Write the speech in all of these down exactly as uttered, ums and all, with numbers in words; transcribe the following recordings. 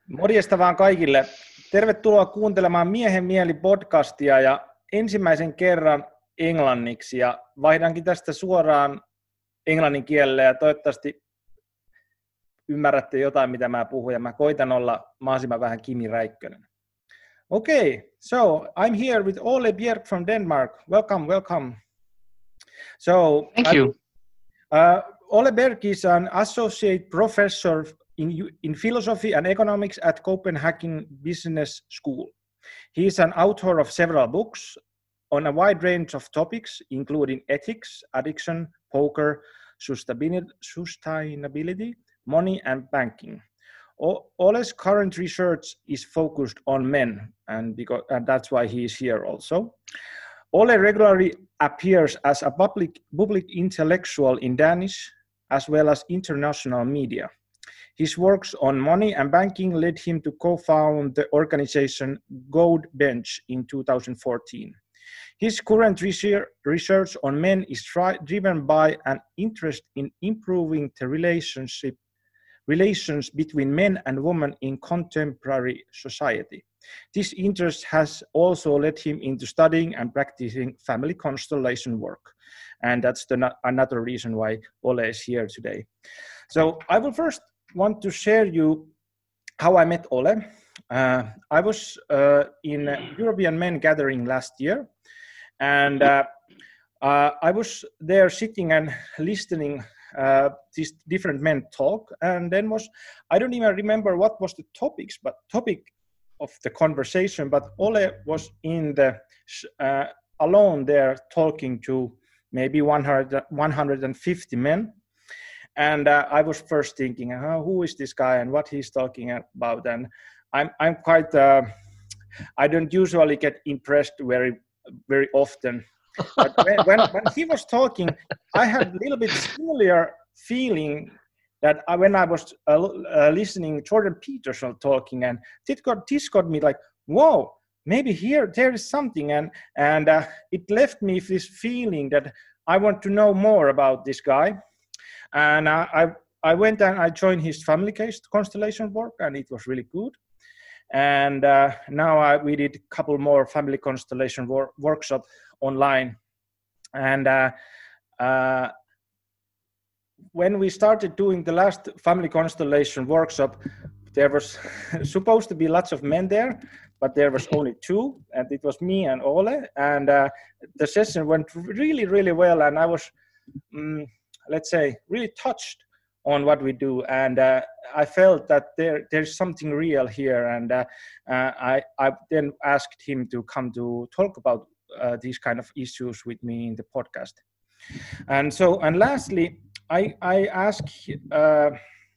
Morjesta vaan kaikille. Tervetuloa kuuntelemaan Miehen mieli podcastia ja ensimmäisen kerran englanniksi ja vaihdankin tästä suoraan englannin kielelle ja toivottavasti ymmärrätte jotain mitä mä puhun ja mä koitan olla mahdollisimman vähän Kimi Räikkönen. Okay, so I'm here with Ole Bjerk from Denmark. Welcome, welcome. So Thank you. Uh, Ole Bjerk is an associate professor in, in philosophy and economics at Copenhagen Business School. He is an author of several books on a wide range of topics, including ethics, addiction, poker, sustainability, money, and banking. Ole's current research is focused on men, and, because, and that's why he is here also. Ole regularly appears as a public, public intellectual in Danish, as well as international media. His works on money and banking led him to co-found the organization Gold Bench in two thousand fourteen. His current research on men is tri- driven by an interest in improving the relationship relations between men and women in contemporary society. This interest has also led him into studying and practicing family constellation work. And that's the, another reason why Ole is here today. So I will first want to share you how I met Ole. Uh, I was uh, in a European Men Gathering last year, and uh, uh, I was there sitting and listening uh, these different men talk, and then was, I don't even remember what was the topics, but topic of the conversation, but Ole was in the uh, alone there talking to maybe one hundred, one hundred fifty men. And uh, I was first thinking, oh, who is this guy and what he's talking about? And I'm I'm quite, uh, I don't usually get impressed very, very often. But when, when, when he was talking, I had a little bit similar feeling that I, when I was uh, uh, listening Jordan Peterson talking, and this got, this got me like, whoa, maybe here there is something. And, and uh, it left me this feeling that I want to know more about this guy. And uh, I I went and I joined his family case constellation work, and it was really good. And uh, now I, we did a couple more family constellation wor- workshop online. And uh, uh, when we started doing the last family constellation workshop, there was supposed to be lots of men there, but there was only two, and it was me and Ole. And uh, the session went really, really well, and I was. Um, let's say, really touched on what we do. And uh, I felt that there there's something real here. And uh, uh, I, I then asked him to come to talk about uh, these kind of issues with me in the podcast. And so, and lastly, I, I asked uh,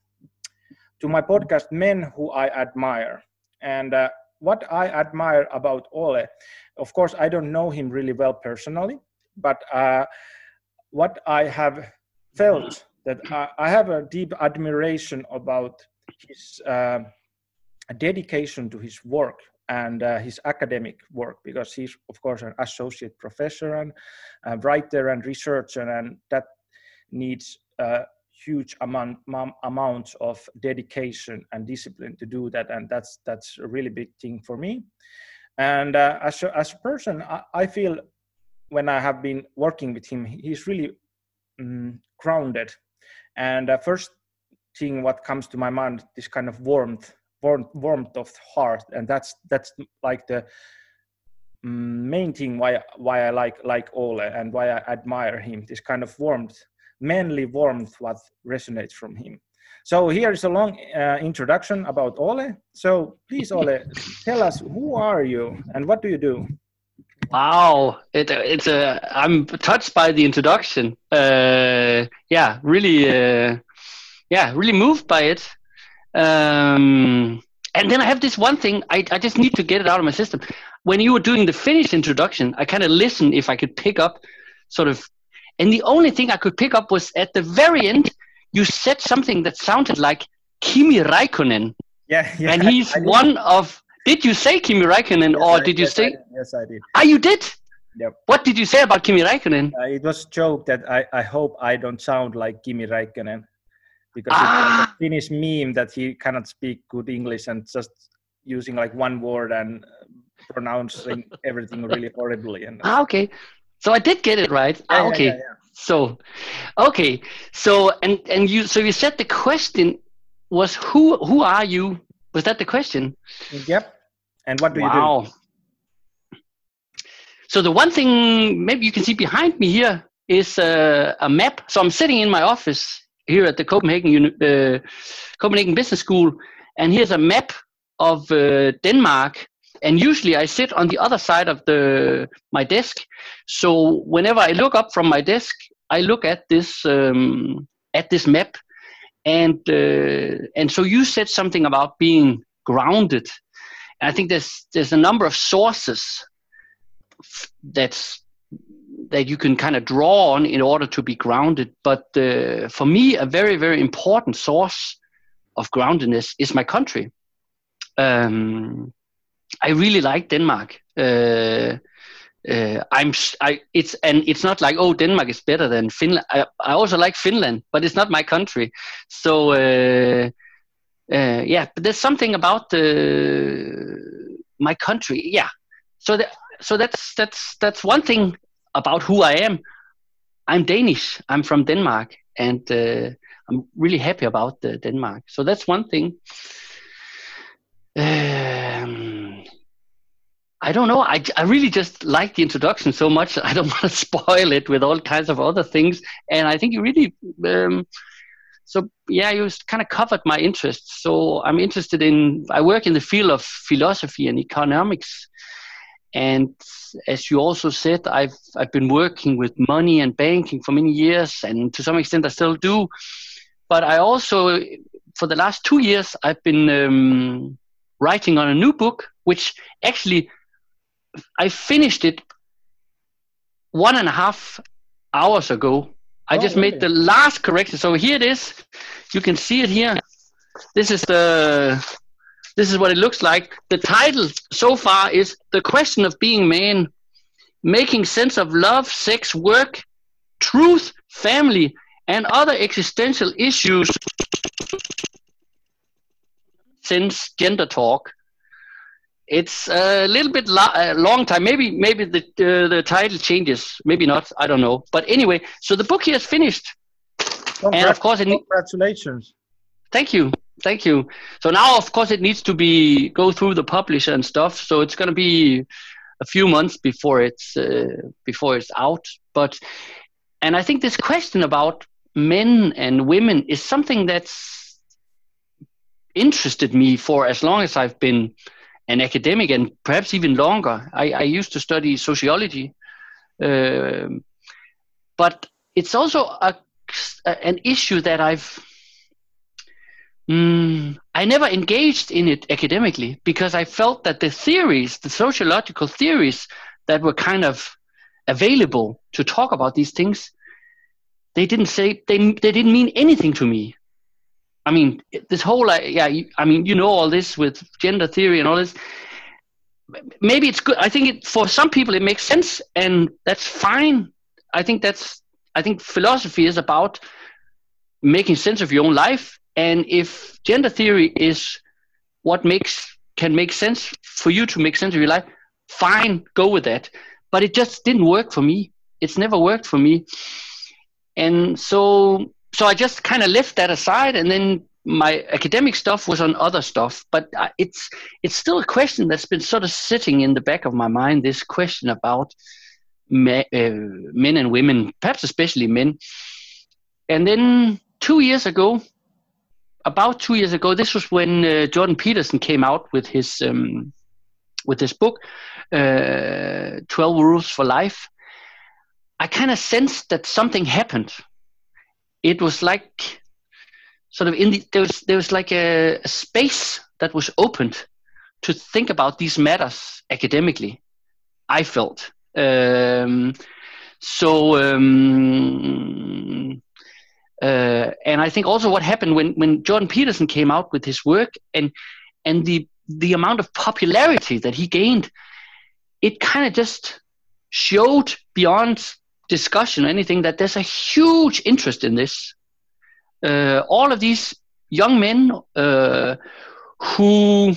to my podcast men who I admire. And uh, what I admire about Ole, of course, I don't know him really well personally, but uh, what I have felt that I, I have a deep admiration about his uh, dedication to his work and uh, his academic work, because he's, of course, an associate professor and a writer and researcher, and that needs a huge amount, amount of dedication and discipline to do that, and that's that's a really big thing for me. And uh, as, a, as a person, I, I feel when I have been working with him, he's really um, grounded. And uh, first thing what comes to my mind, this kind of warmth, warmth, warmth of heart, and that's that's like the um, main thing why why I like like Ole and why I admire him. This kind of warmth, manly warmth, what resonates from him. So here is a long uh, introduction about Ole. So please, Ole, tell us, who are you and what do you do? Wow, it, it's a. I'm touched by the introduction. Uh, yeah, really. Uh, yeah, really moved by it. Um, and then I have this one thing. I I just need to get it out of my system. When you were doing the Finnish introduction, I kind of listened if I could pick up, sort of. And the only thing I could pick up was at the very end, you said something that sounded like Kimi Räikkönen. Yeah, yeah. And he's one of. Did you say Kimi Räikkönen, yes, or I, did you yes, say? I did. Yes, I did. Ah, you did? Yep. What did you say about Kimi Räikkönen? Uh, it was a joke that I, I hope I don't sound like Kimi Räikkönen. because Ah. it's like a Finnish meme that he cannot speak good English and just using like one word and pronouncing everything really horribly. And Ah, okay. So I did get it right. Yeah, ah, yeah, okay. yeah, yeah. So, okay. So and and you so you said the question was who who are you? Was that the question? Yep. And what do you do? Wow. So the one thing maybe you can see behind me here is uh, a map. So I'm sitting in my office here at the Copenhagen Uni- uh, Copenhagen Business School, and here's a map of uh, Denmark. And usually I sit on the other side of the my desk. So whenever I look up from my desk, I look at this um, at this map. And uh, and so you said something about being grounded. And I think there's there's a number of sources that's that you can kind of draw on in order to be grounded. But uh, for me, a very, very important source of groundedness is my country. Um, I really like Denmark. Uh, uh, I'm. I. It's and it's not like oh Denmark is better than Finland. I, I also like Finland, but it's not my country. So uh, uh, yeah, but there's something about the my country. Yeah. So that. So that's that's that's one thing about who I am. I'm Danish. I'm from Denmark, and uh, I'm really happy about uh, Denmark. So that's one thing. Um, I don't know. I, I really just like the introduction so much. I don't want to spoil it with all kinds of other things. And I think you really, um, so yeah, you kind of covered my interests. So I'm interested in, I work in the field of philosophy and economics. And as you also said, I've I've been working with money and banking for many years, and to some extent I still do. But I also, for the last two years, I've been um, writing on a new book, which actually I finished it one and a half hours ago. I Oh, just really? made the last correction. So here it is. You can see it here. This is the. This is what it looks like. The title so far is The Question of Being Man, Making Sense of Love, Sex, Work, Truth, Family, and Other Existential Issues since Gender Talk. It's a little bit lo- a long time. Maybe maybe the uh, the title changes. Maybe not. I don't know. But anyway, so the book here is finished. Congrat- and of course, it ne- congratulations. Thank you. Thank you. So now, of course, it needs to be go through the publisher and stuff. So it's going to be a few months before it's uh, before it's out. But and I think this question about men and women is something that's interested me for as long as I've been an academic, and perhaps even longer. I, I used to study sociology, uh, but it's also a, an issue that I've Mm, I never engaged in it academically because I felt that the theories, the sociological theories that were kind of available to talk about these things, they didn't say, they, they didn't mean anything to me. I mean, this whole, uh, yeah, I mean, you know, all this with gender theory and all this, maybe it's good. I think it, for some people it makes sense, and that's fine. I think that's, I think philosophy is about making sense of your own life. And if gender theory is what makes can make sense for you to make sense of your life, fine, go with that. But it just didn't work for me. It's never worked for me. And so so I just kind of left that aside, and then my academic stuff was on other stuff. But it's it's still a question that's been sort of sitting in the back of my mind, this question about me, uh, men and women, perhaps especially men. And then two years ago, About two years ago, this was when uh, Jordan Peterson came out with his um, with his book, uh, twelve Rules for Life. I kind of sensed that something happened. It was like sort of in the, there was there was like a, a space that was opened to think about these matters academically. I felt um, so. Um, Uh, and I think also what happened when, when Jordan Peterson came out with his work and and the the amount of popularity that he gained, it kind of just showed beyond discussion or anything that there's a huge interest in this. uh, all of these young men uh, who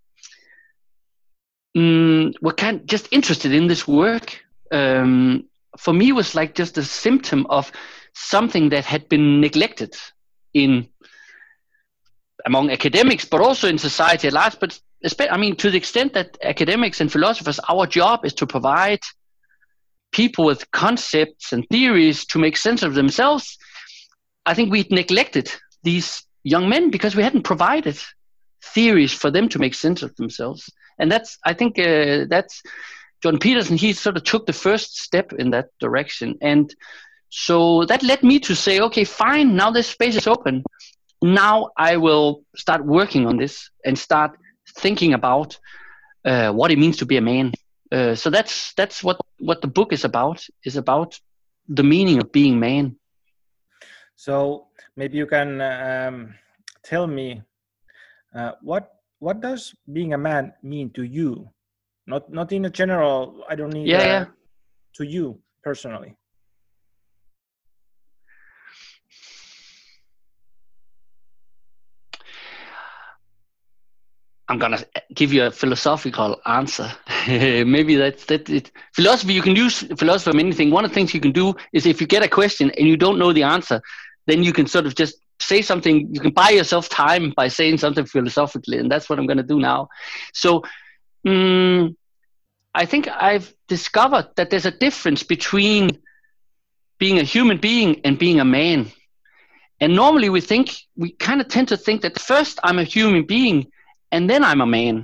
um, were kind of just interested in this work, um, for me was like just a symptom of something that had been neglected in among academics, but also in society at large. But I mean, to the extent that academics and philosophers, our job is to provide people with concepts and theories to make sense of themselves. I think we neglected these young men because we hadn't provided theories for them to make sense of themselves. And that's, I think, uh, that's Jordan Peterson. He sort of took the first step in that direction. And so that led me to say, okay, fine, now this space is open. Now I will start working on this and start thinking about uh, what it means to be a man. Uh, so that's that's what, what the book is about, is about the meaning of being man. So maybe you can um, tell me uh, what what does being a man mean to you? Not not in a general, I don't need yeah, uh, yeah. to you personally. I'm gonna give you a philosophical answer. Maybe that's that. It. Philosophy, you can use philosophy for anything. One of the things you can do is if you get a question and you don't know the answer, then you can sort of just say something. You can buy yourself time by saying something philosophically, and that's what I'm going to do now. So, um, I think I've discovered that there's a difference between being a human being and being a man. And normally we think we kind of tend to think that first I'm a human being, and then I'm a man.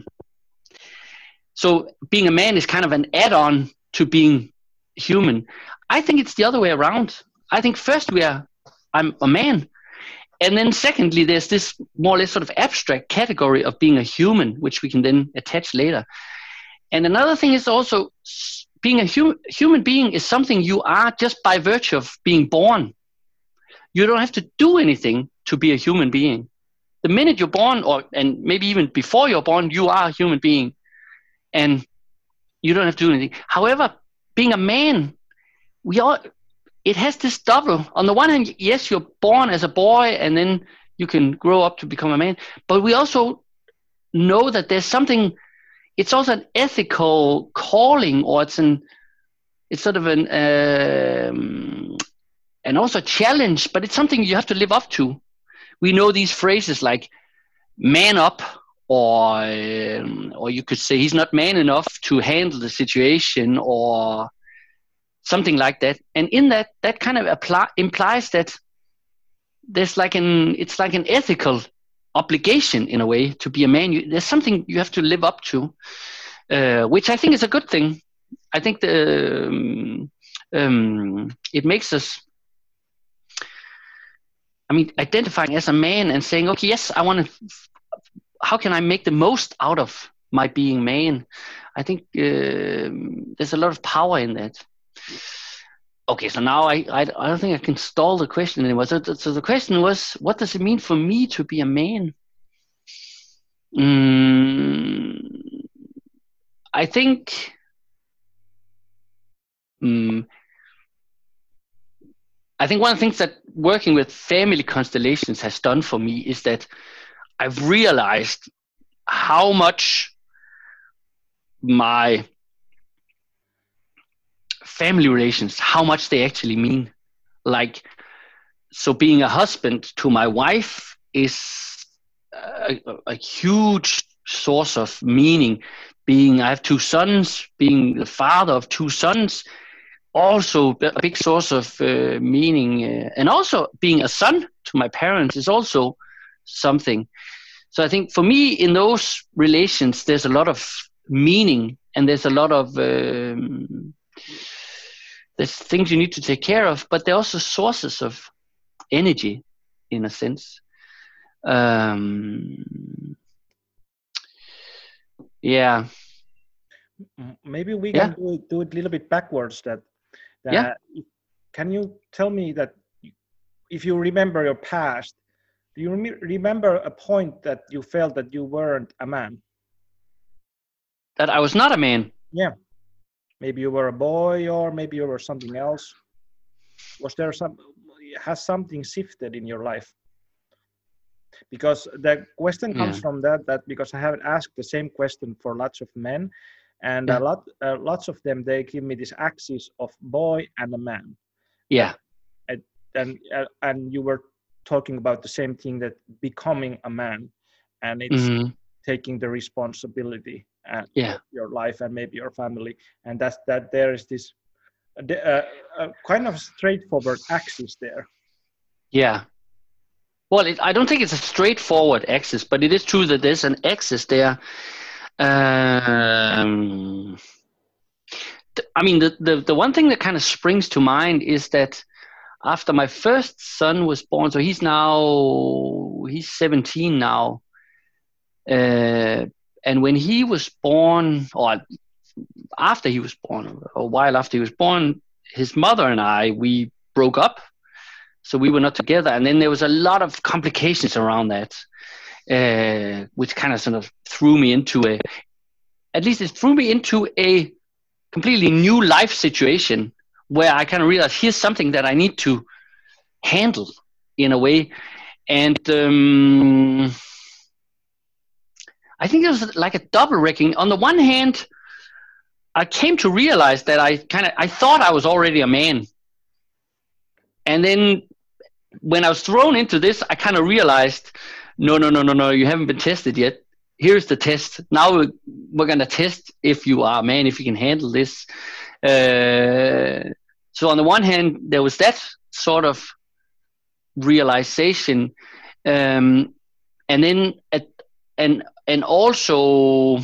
So being a man is kind of an add-on to being human. I think it's the other way around. I think first we are, I'm a man. And then secondly, there's this more or less sort of abstract category of being a human, which we can then attach later. And another thing is also being a hum- human being is something you are just by virtue of being born. You don't have to do anything to be a human being. The minute you're born, or and maybe even before you're born, you are a human being, and you don't have to do anything. However, being a man, we all it has this double. On the one hand, yes, you're born as a boy, and then you can grow up to become a man. But we also know that there's something. It's also an ethical calling, or it's an it's sort of an um, and also a challenge. But it's something you have to live up to. We know these phrases like "man up," or um, or you could say he's not man enough to handle the situation, or something like that. And in that, that kind of apply, implies that there's like an it's like an ethical obligation in a way to be a man. You, there's something you have to live up to, uh, which I think is a good thing. I think the um, um, it makes us. I mean, identifying as a man and saying, okay, yes, I want to, how can I make the most out of my being man? I think uh, there's a lot of power in that. Okay, so now I, I, I don't think I can stall the question anymore. So, so the question was, what does it mean for me to be a man? Mm, I think um, I think one of the things that working with family constellations has done for me is that I've realized how much my family relations, how much they actually mean. Like, so being a husband to my wife is a, a huge source of meaning. Being, I have two sons, being the father of two sons, also a big source of uh, meaning, uh, and also being a son to my parents is also something. So I think for me in those relations there's a lot of meaning, and there's a lot of um, there's things you need to take care of, but they're also sources of energy in a sense. Um, yeah. Maybe we yeah. can do it, do it a little bit backwards. That That, yeah. Can you tell me that if you remember your past, do you rem- remember a point that you felt that you weren't a man? That I was not a man? Yeah. Maybe you were a boy, or maybe you were something else. Was there some, has something shifted in your life? Because the question comes Yeah. from that, that because I have asked the same question for lots of men, and Yeah. a lot, uh, lots of them, they give me this axis of boy and a man. Yeah. That, and uh, and you were talking about the same thing, that becoming a man, and it's Hmm. taking the responsibility uh, Yeah. of your life and maybe your family, and that's that there is this uh, uh, uh, kind of straightforward axis there. Yeah. Well, it, I don't think it's a straightforward axis, but it is true that there's an axis there. Um, th- I mean, the, the, the one thing that kind of springs to mind is that after my first son was born, so he's now, he's seventeen now. Uh, and when he was born, or after he was born, a while after he was born, his mother and I, we broke up. So we were not together. And then there was a lot of complications around that, uh, which kind of sort of threw me into a, at least it threw me into a completely new life situation where I kind of realized here's something that I need to handle in a way. And um, I think it was like a double wrecking. On the one hand, I came to realize that I kind of, I thought I was already a man. And then when I was thrown into this, I kind of realized, no, no, no, no, no, you haven't been tested yet. Here's the test. Now we're, we're going to test if you are a man, if you can handle this. Uh, so on the one hand, there was that sort of realization. Um, and then, at, and, and also,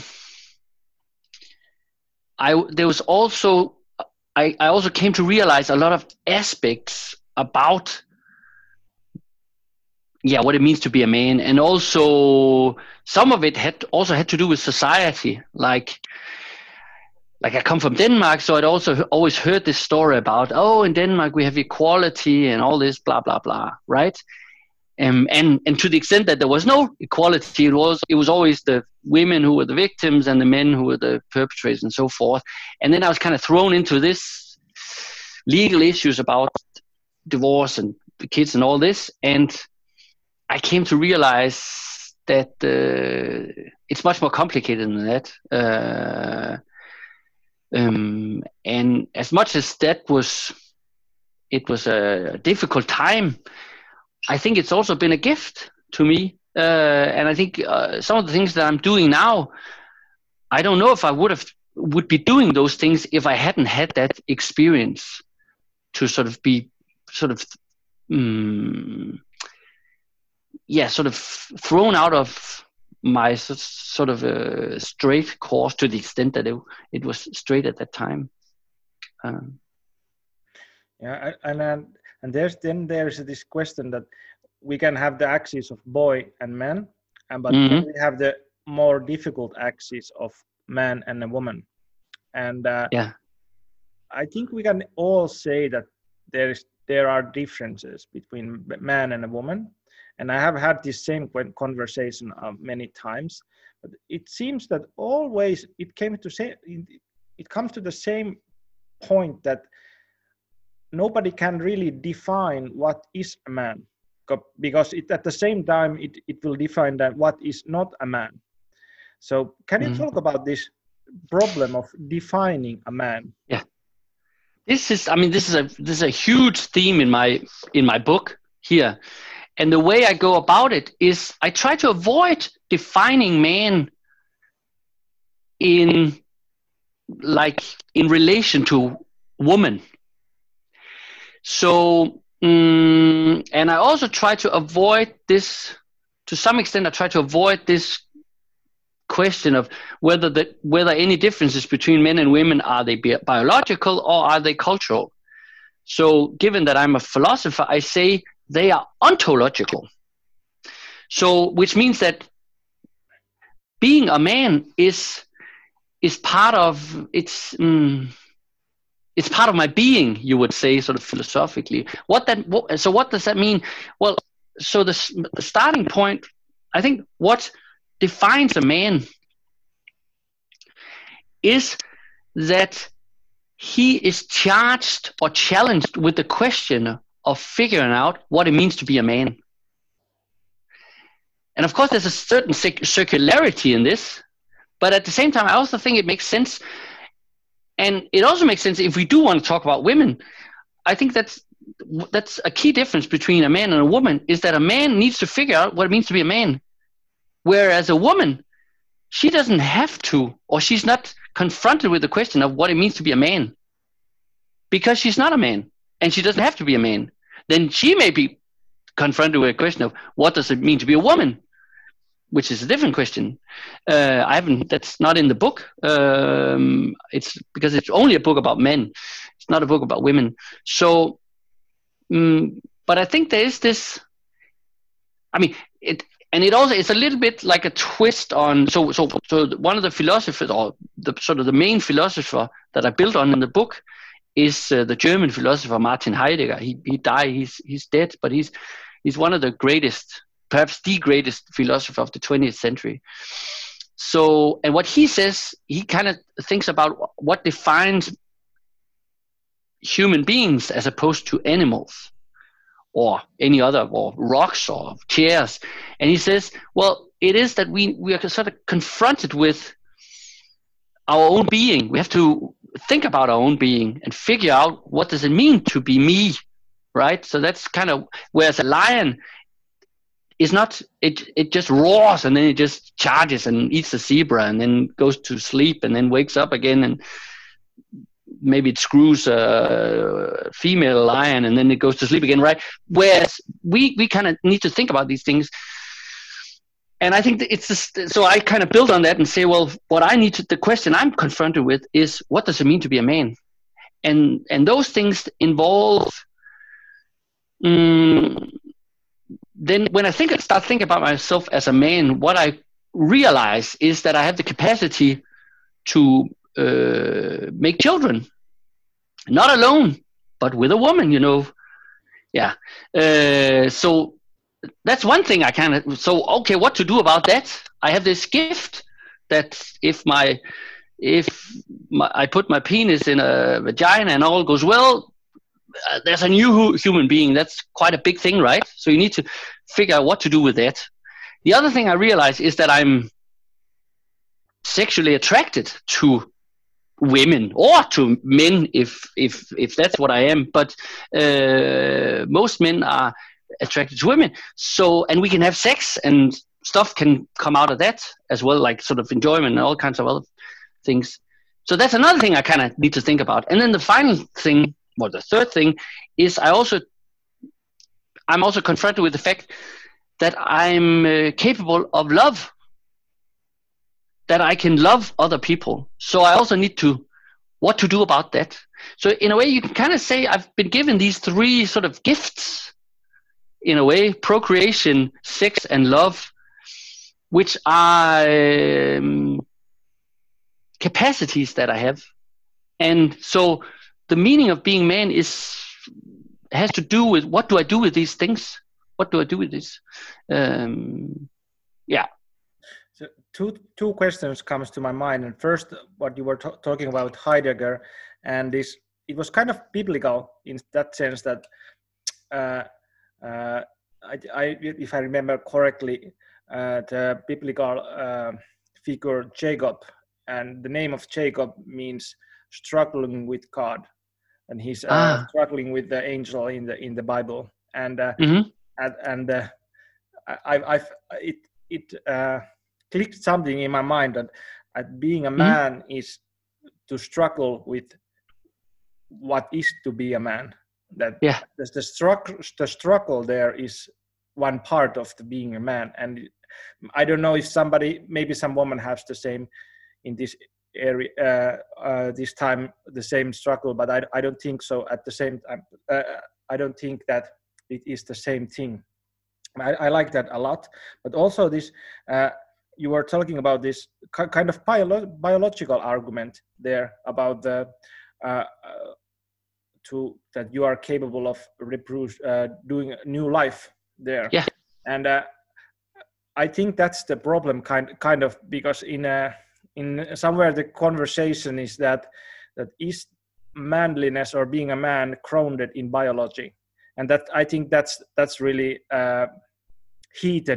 I, there was also, I, I also came to realize a lot of aspects about yeah, what it means to be a man. And also some of it had also had to do with society. Like, like I come from Denmark, so I'd also always heard this story about, oh, in Denmark we have equality and all this, blah, blah, blah, right? Um, and, and to the extent that there was no equality, it was, it was always the women who were the victims and the men who were the perpetrators and so forth. And then I was kind of thrown into this legal issues about divorce and the kids and all this. And I came to realize that uh, it's much more complicated than that. Uh, um, and as much as that was, it was a difficult time, I think it's also been a gift to me. Uh, and I think uh, some of the things that I'm doing now, I don't know if I would have would be doing those things if I hadn't had that experience to sort of be sort of um, yeah, sort of thrown out of my sort of a straight course to the extent that it, it was straight at that time. Um, yeah, and and and there's then there's this question that we can have the axis of boy and man, and but mm-hmm. then we have the more difficult axis of man and a woman, and uh, yeah, I think we can all say that there is there are differences between man and a woman. And I have had this same conversation uh, many times, but it seems that always it came to say it comes to the same point that nobody can really define what is a man, because it, at the same time it, it will define that what is not a man. So can you mm-hmm. talk about this problem of defining a man? Yeah, this is I mean this is a this is a huge theme in my in my book here. And the way I go about it is I try to avoid defining man in like in relation to woman. So, um, and I also try to avoid this, to some extent I try to avoid this question of whether the, whether any differences between men and women, are they bi- biological or are they cultural? So given that I'm a philosopher, I say they are ontological. So, which means that being a man is is part of it's um, it's part of my being. You would say, sort of philosophically. What that? What, so, what does that mean? Well, so the, the starting point, I think, what defines a man is that he is charged or challenged with the question of figuring out what it means to be a man. And of course, there's a certain circularity in this, but at the same time, I also think it makes sense. And it also makes sense if we do want to talk about women. I think that's that's a key difference between a man and a woman, is that a man needs to figure out what it means to be a man. Whereas a woman, she doesn't have to, or she's not confronted with the question of what it means to be a man, because she's not a man and she doesn't have to be a man. Then she may be confronted with a question of what does it mean to be a woman, which is a different question. Uh, I haven't, that's not in the book. Um, it's because it's only a book about men. It's not a book about women. So, um, but I think there is this, I mean, it, and it also, it's a little bit like a twist on, so, so, so one of the philosophers, or the sort of the main philosopher that I built on in the book is uh, the German philosopher Martin Heidegger. He, he died, he's, he's dead, but he's, he's one of the greatest, perhaps the greatest philosopher of the twentieth century. So, and what he says, he kind of thinks about what defines human beings as opposed to animals or any other, or rocks or chairs. And he says, well, it is that we, we are sort of confronted with our own being. We have to think about our own being and figure out what does it mean to be me, right? So that's kind of, whereas a lion is not, it it just roars and then it just charges and eats the zebra and then goes to sleep and then wakes up again, and maybe it screws a female lion and then it goes to sleep again, right? Whereas we, we kind of need to think about these things. And I think that it's just, so I kind of build on that and say, well, what I need to, the question I'm confronted with is, what does it mean to be a man? And and those things involve, um, then when I think I start thinking about myself as a man, what I realize is that I have the capacity to uh, make children, not alone, but with a woman, you know. Yeah. Uh, so that's one thing I kind of, so, okay, what to do about that? I have this gift that if my, if my, I put my penis in a vagina and all goes well, uh, there's a new human being. That's quite a big thing, right? So you need to figure out what to do with that. The other thing I realize is that I'm sexually attracted to women or to men, if if if that's what I am. But uh, most men are attracted to women. So, and we can have sex and stuff can come out of that as well, like sort of enjoyment and all kinds of other things. So that's another thing I kind of need to think about. And then the final thing, or the third thing, is I also, I'm also confronted with the fact that I'm uh, capable of love, that I can love other people. So I also need to, what to do about that. So in a way, you can kind of say I've been given these three sort of gifts, in a way, procreation, sex, and love, which are um, capacities that I have. And so the meaning of being man is, has to do with, what do I do with these things? What do I do with this? Um, yeah. So two two questions comes to my mind. And first, what you were t- talking about Heidegger, and this, it was kind of biblical in that sense that uh, uh, I, I, if I remember correctly, uh, the biblical uh, figure Jacob, and the name of Jacob means struggling with God, and he's uh, ah. struggling with the angel in the in the Bible, and uh, mm-hmm. and, and uh, I, I've it it uh, clicked something in my mind that uh, being a man mm-hmm. is to struggle with what is to be a man. That yeah. the, the struggle the struggle there is one part of the being a man, and I don't know if somebody, maybe some woman has the same in this area uh, uh, this time, the same struggle, but I I don't think so. At the same time, uh, I don't think that it is the same thing. I, I like that a lot, but also this uh, you were talking about this kind of bio- biological argument there about the. Uh, uh, to that you are capable of reproduce, uh, doing a new life there. Yeah. And uh, I think that's the problem kind kind of, because in a, in somewhere the conversation is that that is manliness or being a man grounded in biology, and that I think that's that's really uh, heated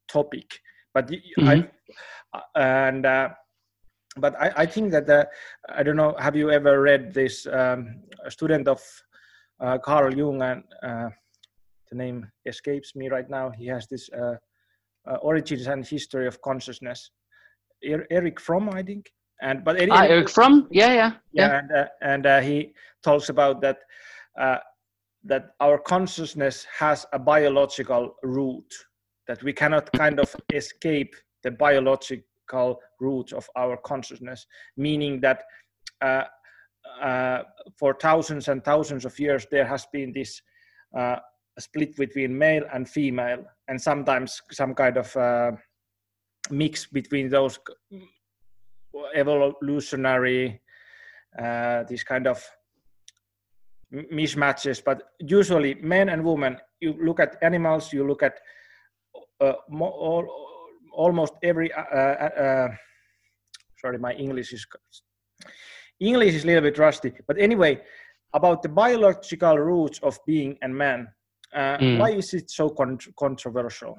topic. But Mm-hmm. I and uh, but I, I think that uh, I don't know. Have you ever read this um, a student of uh, Carl Jung, and uh, the name escapes me right now. He has this uh, uh, Origins and History of Consciousness. Er- Eric Fromm, I think. And but any, Ah, anyway, Eric Fromm, yeah, yeah, yeah, yeah. and uh, and uh, he talks about that uh, that our consciousness has a biological root, that we cannot kind of escape the biological root of our consciousness, meaning that uh, uh, for thousands and thousands of years there has been this uh, split between male and female, and sometimes some kind of uh, mix between those evolutionary uh, these kind of mismatches. But usually men and women, you look at animals, you look at uh, mo- all, almost every uh, uh, sorry, my English is English is a little bit rusty, but anyway, about the biological roots of being a man, uh, Mm. why is it so con- controversial?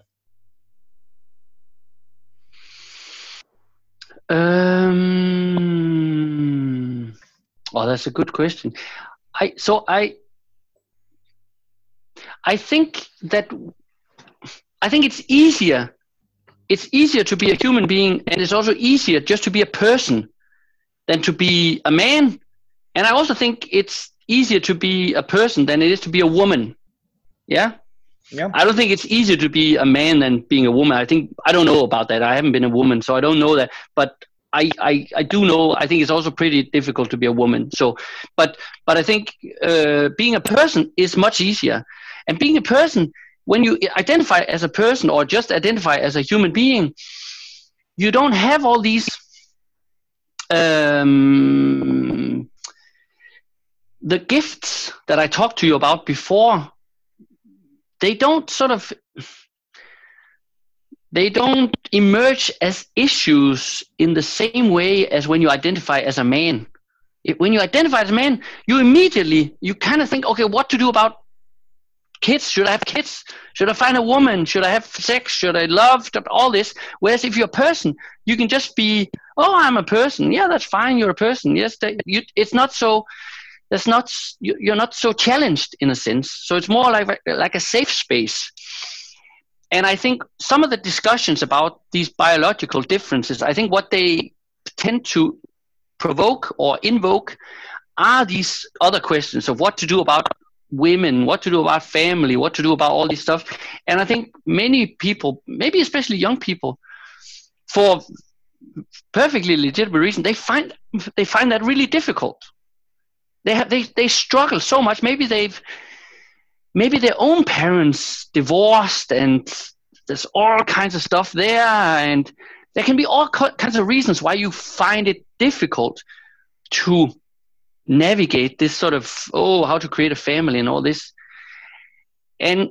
Um, oh, that's a good question. I so I I think that I think it's easier. It's easier to be a human being, and it's also easier just to be a person than to be a man. And I also think it's easier to be a person than it is to be a woman. Yeah. Yeah. I don't think it's easier to be a man than being a woman. I think I don't know about that. I haven't been a woman, so I don't know that. But I, I, I do know. I think it's also pretty difficult to be a woman. So, but but I think uh, being a person is much easier. And being a person, when you identify as a person or just identify as a human being, you don't have all these um, the gifts that I talked to you about before. They don't sort of they don't emerge as issues in the same way as when you identify as a man. If, when you identify as a man, you immediately, you kind of think, okay, what to do about kids? Should I have kids? Should I find a woman? Should I have sex? Should I love? All this. Whereas if you're a person, you can just be, oh, I'm a person. Yeah, that's fine. You're a person. Yes, they, you, it's not so, that's not, you're not so challenged in a sense. So it's more like, like a safe space. And I think some of the discussions about these biological differences, I think what they tend to provoke or invoke are these other questions of what to do about women, what to do about family, what to do about all this stuff. And I think many people, maybe especially young people, for perfectly legitimate reason, they find they find that really difficult. They have they they struggle so much. Maybe they've maybe their own parents divorced, and there's all kinds of stuff there, and there can be all kinds of reasons why you find it difficult to navigate this sort of, oh, how to create a family and all this. And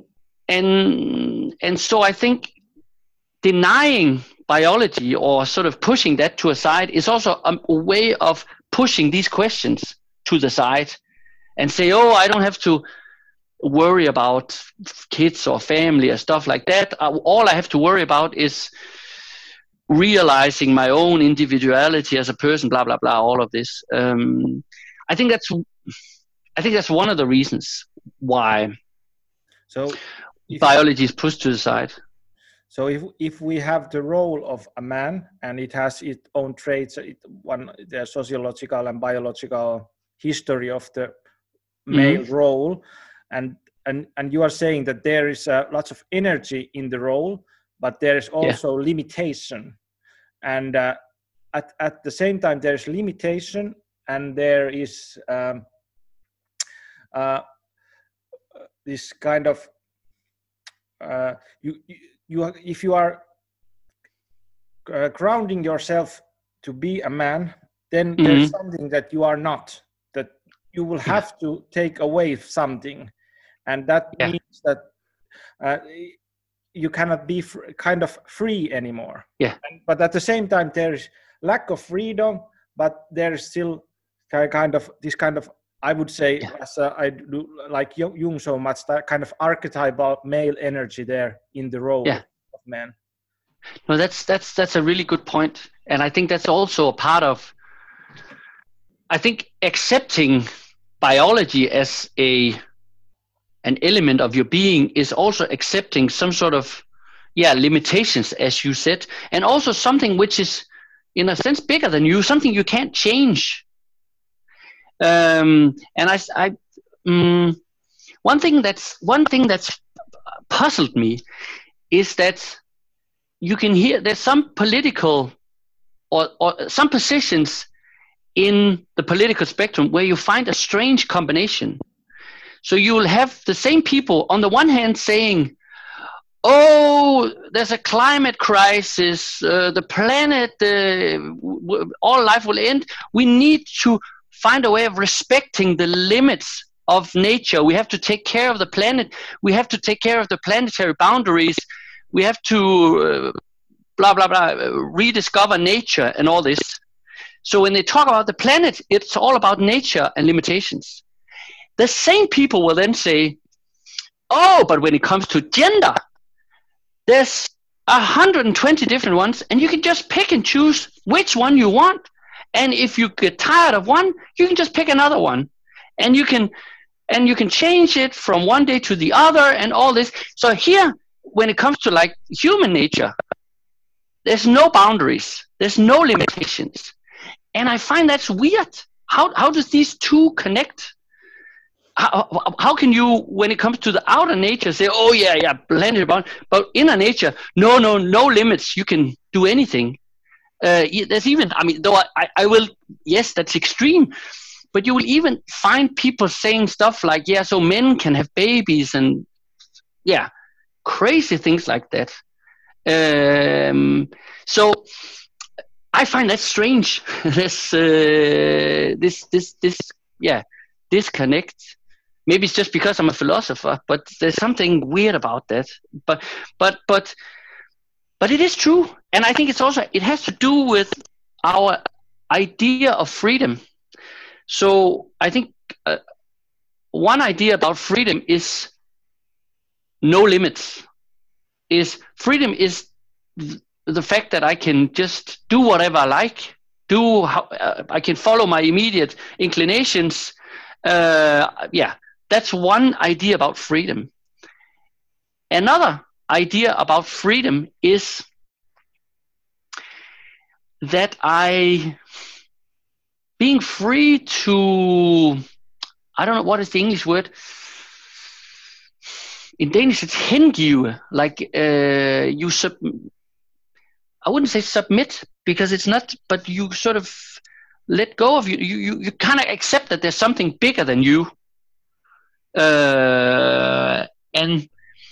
and and so I think denying biology or sort of pushing that to a side is also a, a way of pushing these questions to the side and say, oh, I don't have to worry about kids or family or stuff like that. All I have to worry about is realizing my own individuality as a person, blah, blah, blah, all of this. Um, I think that's I think that's one of the reasons why so biology is pushed to the side. So if if we have the role of a man and it has its own traits, it, one the sociological and biological history of the male mm-hmm. role, and and and you are saying that there is uh, lots of energy in the role, but there is also yeah. limitation, and uh, at at the same time there is limitation and there is um, uh, this kind of uh, you. you You, if you are uh, grounding yourself to be a man, then mm-hmm. there's something that you are not, that you will have yeah. to take away something. And that yeah. means that uh, you cannot be fr- kind of free anymore. Yeah. And, but at the same time, there is lack of freedom, but there is still kind of this kind of, I would say, yeah. as uh, I do like Jung so much, that kind of archetypal male energy there in the role yeah. of man. No, that's that's that's a really good point, and I think that's also a part of. I think accepting biology as a an element of your being is also accepting some sort of yeah limitations, as you said, and also something which is in a sense bigger than you, something you can't change. Um, and I, I um, one thing that's one thing that's puzzled me is that you can hear there's some political or, or some positions in the political spectrum where you find a strange combination. So you will have the same people on the one hand saying, oh, there's a climate crisis, uh, the planet, uh, w- w- all life will end. We need to find a way of respecting the limits of nature. We have to take care of the planet. We have to take care of the planetary boundaries. We have to uh, blah, blah, blah, rediscover nature and all this. So when they talk about the planet, it's all about nature and limitations. The same people will then say, oh, but when it comes to gender, there's one hundred twenty different ones, and you can just pick and choose which one you want. And if you get tired of one, you can just pick another one. And you can and you can change it from one day to the other and all this. So here, when it comes to like human nature, there's no boundaries. There's no limitations. And I find that's weird. How how does these two connect? How, how can you, when it comes to the outer nature, say, oh yeah, yeah, plenty about, but inner nature, no, no, no limits. You can do anything. Uh, there's even, I mean, though I, I will, yes, that's extreme, but you will even find people saying stuff like, yeah, so men can have babies and yeah, crazy things like that. Um, so I find that strange. this, uh, this, this, this, yeah, disconnect. Maybe it's just because I'm a philosopher, but there's something weird about that. But, but, but, but it is true, and I think it's also it has to do with our idea of freedom. So I think uh, one idea about freedom is no limits. Is freedom is th- the fact that I can just do whatever I like, do how uh, I can follow my immediate inclinations. Uh, yeah. That's one idea about freedom. Another idea about freedom is that I, being free to, I don't know, what is the English word? In Danish, it's hengive, like uh, you sub, I wouldn't say submit, because it's not, but you sort of let go of you. You, you, you kind of accept that there's something bigger than you. Uh, and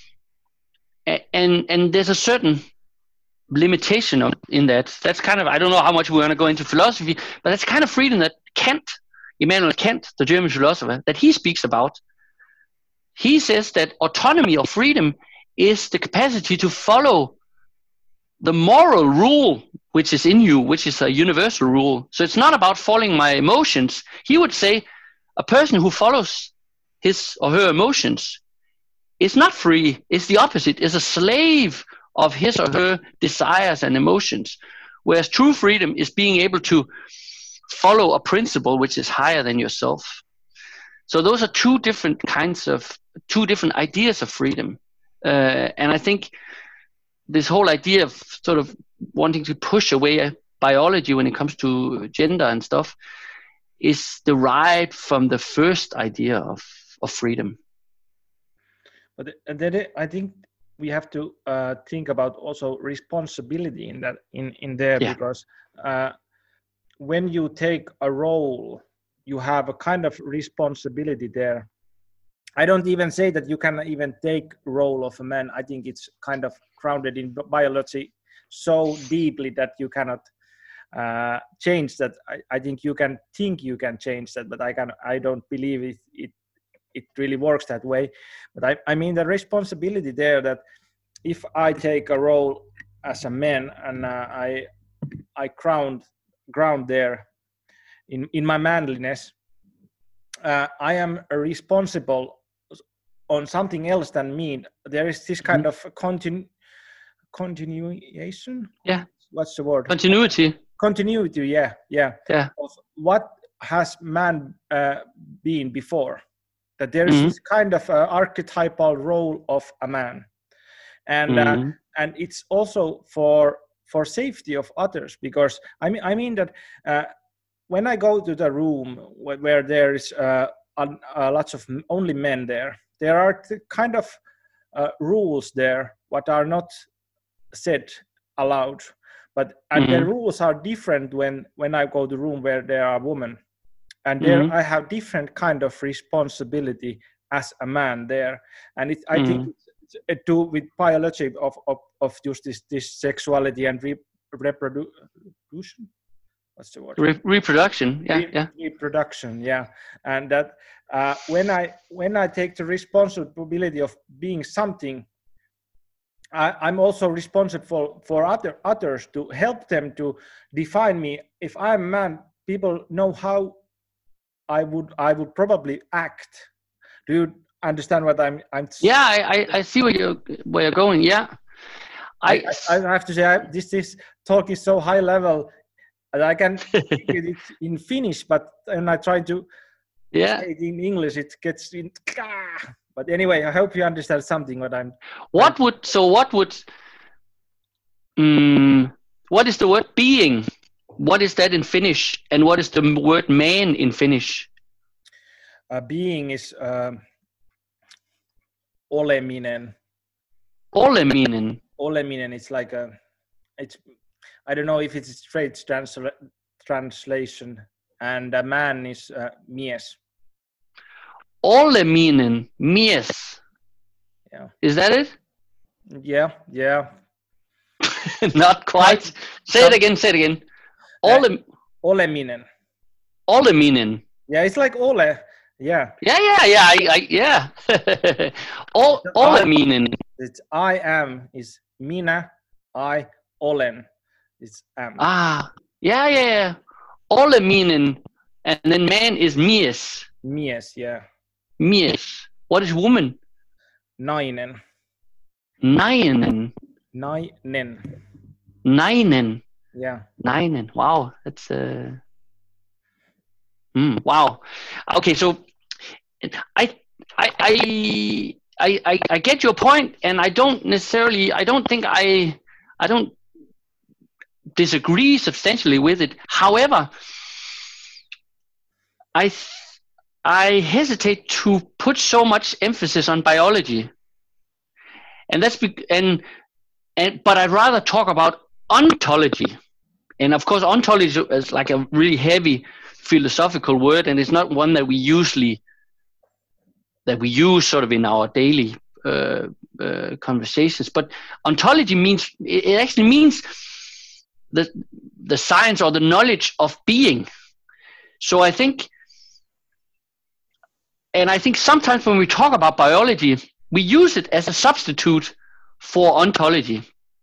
and and there's a certain limitation of, in that. That's kind of, I don't know how much we're going to go into philosophy, but that's kind of freedom that Kant, Immanuel Kant, the German philosopher, that he speaks about. He says that autonomy or freedom is the capacity to follow the moral rule which is in you, which is a universal rule. So it's not about following my emotions. He would say a person who follows his or her emotions is not free. It's the opposite. It's a slave of his or her desires and emotions. Whereas true freedom is being able to follow a principle which is higher than yourself. So those are two different kinds of, two different ideas of freedom. Uh, and I think this whole idea of sort of wanting to push away biology when it comes to gender and stuff is derived from the first idea of, of freedom. But then I think we have to uh, think about also responsibility in that in in there, yeah. Because uh, when you take a role, you have a kind of responsibility there. I don't even say that you can even take role of a man. I think it's kind of grounded in biology so deeply that you cannot uh, change that. I, I think you can think you can change that, but I can. I don't believe it. it it really works that way. But I, I mean the responsibility there, that if I take a role as a man and uh, I I ground ground there in, in my manliness, uh, I am responsible on something else than me. There is this kind mm-hmm. of continu- continuation. Yeah. What's the word? Continuity. Continuity. Yeah, yeah. Yeah. Of what has man uh, been before? That there is Mm-hmm. this kind of uh, archetypal role of a man, and Mm-hmm. uh, and it's also for for safety of others, because I mean I mean that uh, when I go to the room where, where there is uh, a, a lots of only men there, there are the kind of uh, rules there what are not said aloud, but and Mm-hmm. the rules are different when when I go to room where there are women, and there Mm-hmm. I have different kind of responsibility as a man there, and it, I Mm-hmm. think it's, it's to with biology of of, of just this this sexuality and re, reproduction. What's the word? Re- reproduction. Yeah. Re- Yeah. Reproduction. Yeah, and that uh, when I when I take the responsibility of being something, I, I'm also responsible for, for other others to help them to define me. If I'm a man, people know how I would I would probably act. Do you understand what I'm? I'm Yeah. I, I, I see where you're where you're going. Yeah. I, I. I, I have to say I, this this talk is so high level that I can speak it in Finnish, but when I try to Yeah. say it in English, it gets in. But anyway, I hope you understand something what I'm. What I'm, would so? What would? Um, what is the word being? What is that in Finnish? And what is the word man in Finnish? Uh, being is um, oleminen. Oleminen. Oleminen. It's like a. It's. I don't know if it's a straight transla- translation. And a man is uh, mies. Oleminen, mies. Yeah. Is that it? Yeah. Yeah. Not quite. Say it again. Say it again. Ole. Uh, oleminen. Oleminen. Yeah, it's like ole. Yeah. Yeah, yeah, yeah. I, I yeah. o, oleminen. It's I am is minä, I olen is am. Ah, yeah, yeah, yeah. Oleminen, and then man is mies. Mies, yeah. Mies. What is woman? Nainen. Nainen. Nainen. Nainen. Yeah. Nainen. Wow, that's uh. Mm, wow. Okay, so I, I, I, I, I get your point, and I don't necessarily. I don't think I, I don't disagree substantially with it. However, I, I hesitate to put so much emphasis on biology, and that's be, and and but I'd rather talk about ontology, and of course, ontology is like a really heavy philosophical word, and it's not one that we usually that we use sort of in our daily uh, uh, conversations. But ontology means it actually means the the science or the knowledge of being. So I think, and I think sometimes when we talk about biology, we use it as a substitute for ontology.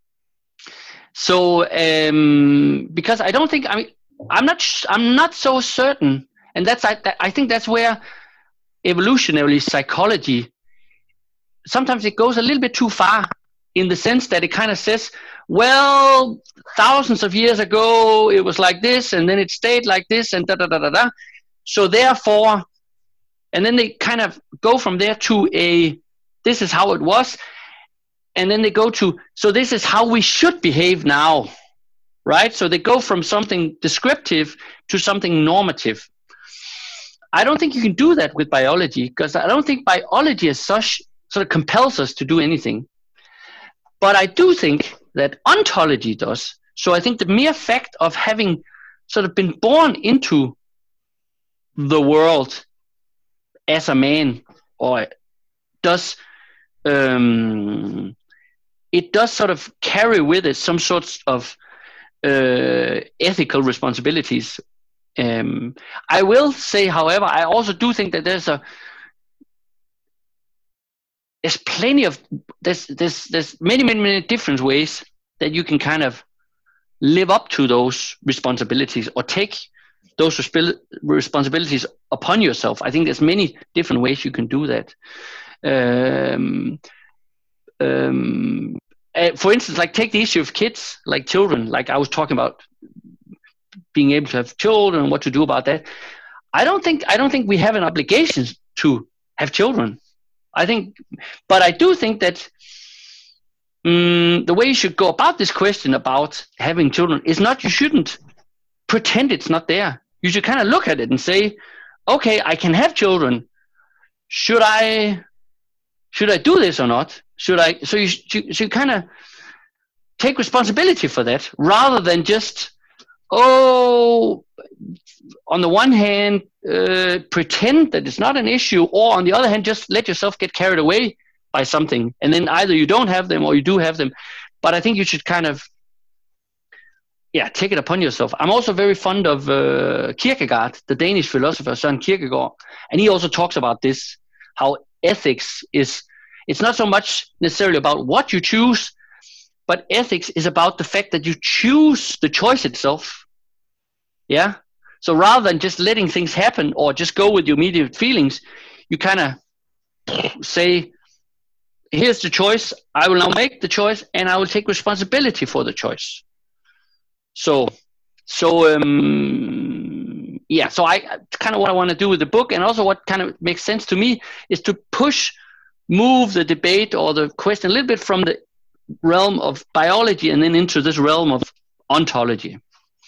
So um, because I don't think I mean. I'm not. I'm not so certain, and that's. I. I think that's where evolutionary psychology. Sometimes it goes a little bit too far, in the sense that it kind of says, "Well, thousands of years ago it was like this, and then it stayed like this, and da da da da da." So therefore, and then they kind of go from there to a. This is how it was, and then they go to. So this is how we should behave now. Right? So they go from something descriptive to something normative. I don't think you can do that with biology, because I don't think biology as such sort of compels us to do anything. But I do think that ontology does. So I think the mere fact of having sort of been born into the world as a man, or does um, it does sort of carry with it some sorts of Uh, ethical responsibilities. Um, I will say, however, I also do think that there's a there's plenty of there's there's there's many many many different ways that you can kind of live up to those responsibilities or take those resp- responsibilities upon yourself. I think there's many different ways you can do that. Um, um, uh, for instance, like take the issue of kids, like children, like I was talking about being able to have children and what to do about that. I don't think I don't think we have an obligation to have children. I think, but I do think that um, the way you should go about this question about having children is not, you shouldn't pretend it's not there. You should kind of look at it and say, okay, I can have children. Should I, should I do this or not? Should I, so you should, you should kind of take responsibility for that rather than just, oh, on the one hand, uh, pretend that it's not an issue, or on the other hand, just let yourself get carried away by something. And then either you don't have them or you do have them. But I think you should kind of, yeah, take it upon yourself. I'm also very fond of uh, Kierkegaard, the Danish philosopher Søren Kierkegaard. And he also talks about this, how ethics is, it's not so much necessarily about what you choose, but ethics is about the fact that you choose the choice itself. Yeah. So rather than just letting things happen or just go with your immediate feelings, you kind of say, here's the choice. I will now make the choice and I will take responsibility for the choice. So, so, um, yeah, so I kind of what I want to do with the book, and also what kind of makes sense to me is to push, move the debate or the question a little bit from the realm of biology and then into this realm of ontology.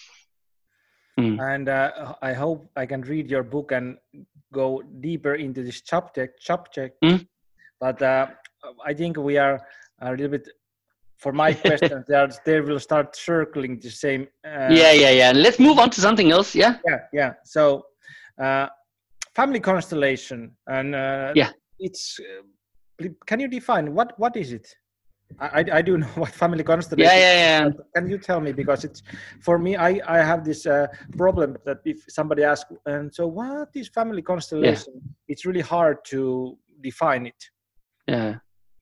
Mm. And uh, I hope I can read your book and go deeper into this subject. subject. Mm. But uh, I think we are a little bit, for my question, they, are, they will start circling the same. Uh, yeah, yeah, yeah. Let's move on to something else. Yeah. Yeah, yeah. So, uh, family constellation, and uh, yeah, it's. Uh, can you define what what is it? I, I do know what family constellation yeah, yeah, yeah. is. Can you tell me? Because it's, for me, I, I have this uh, problem that if somebody asks, and so what is family constellation? Yeah. It's really hard to define it. Yeah.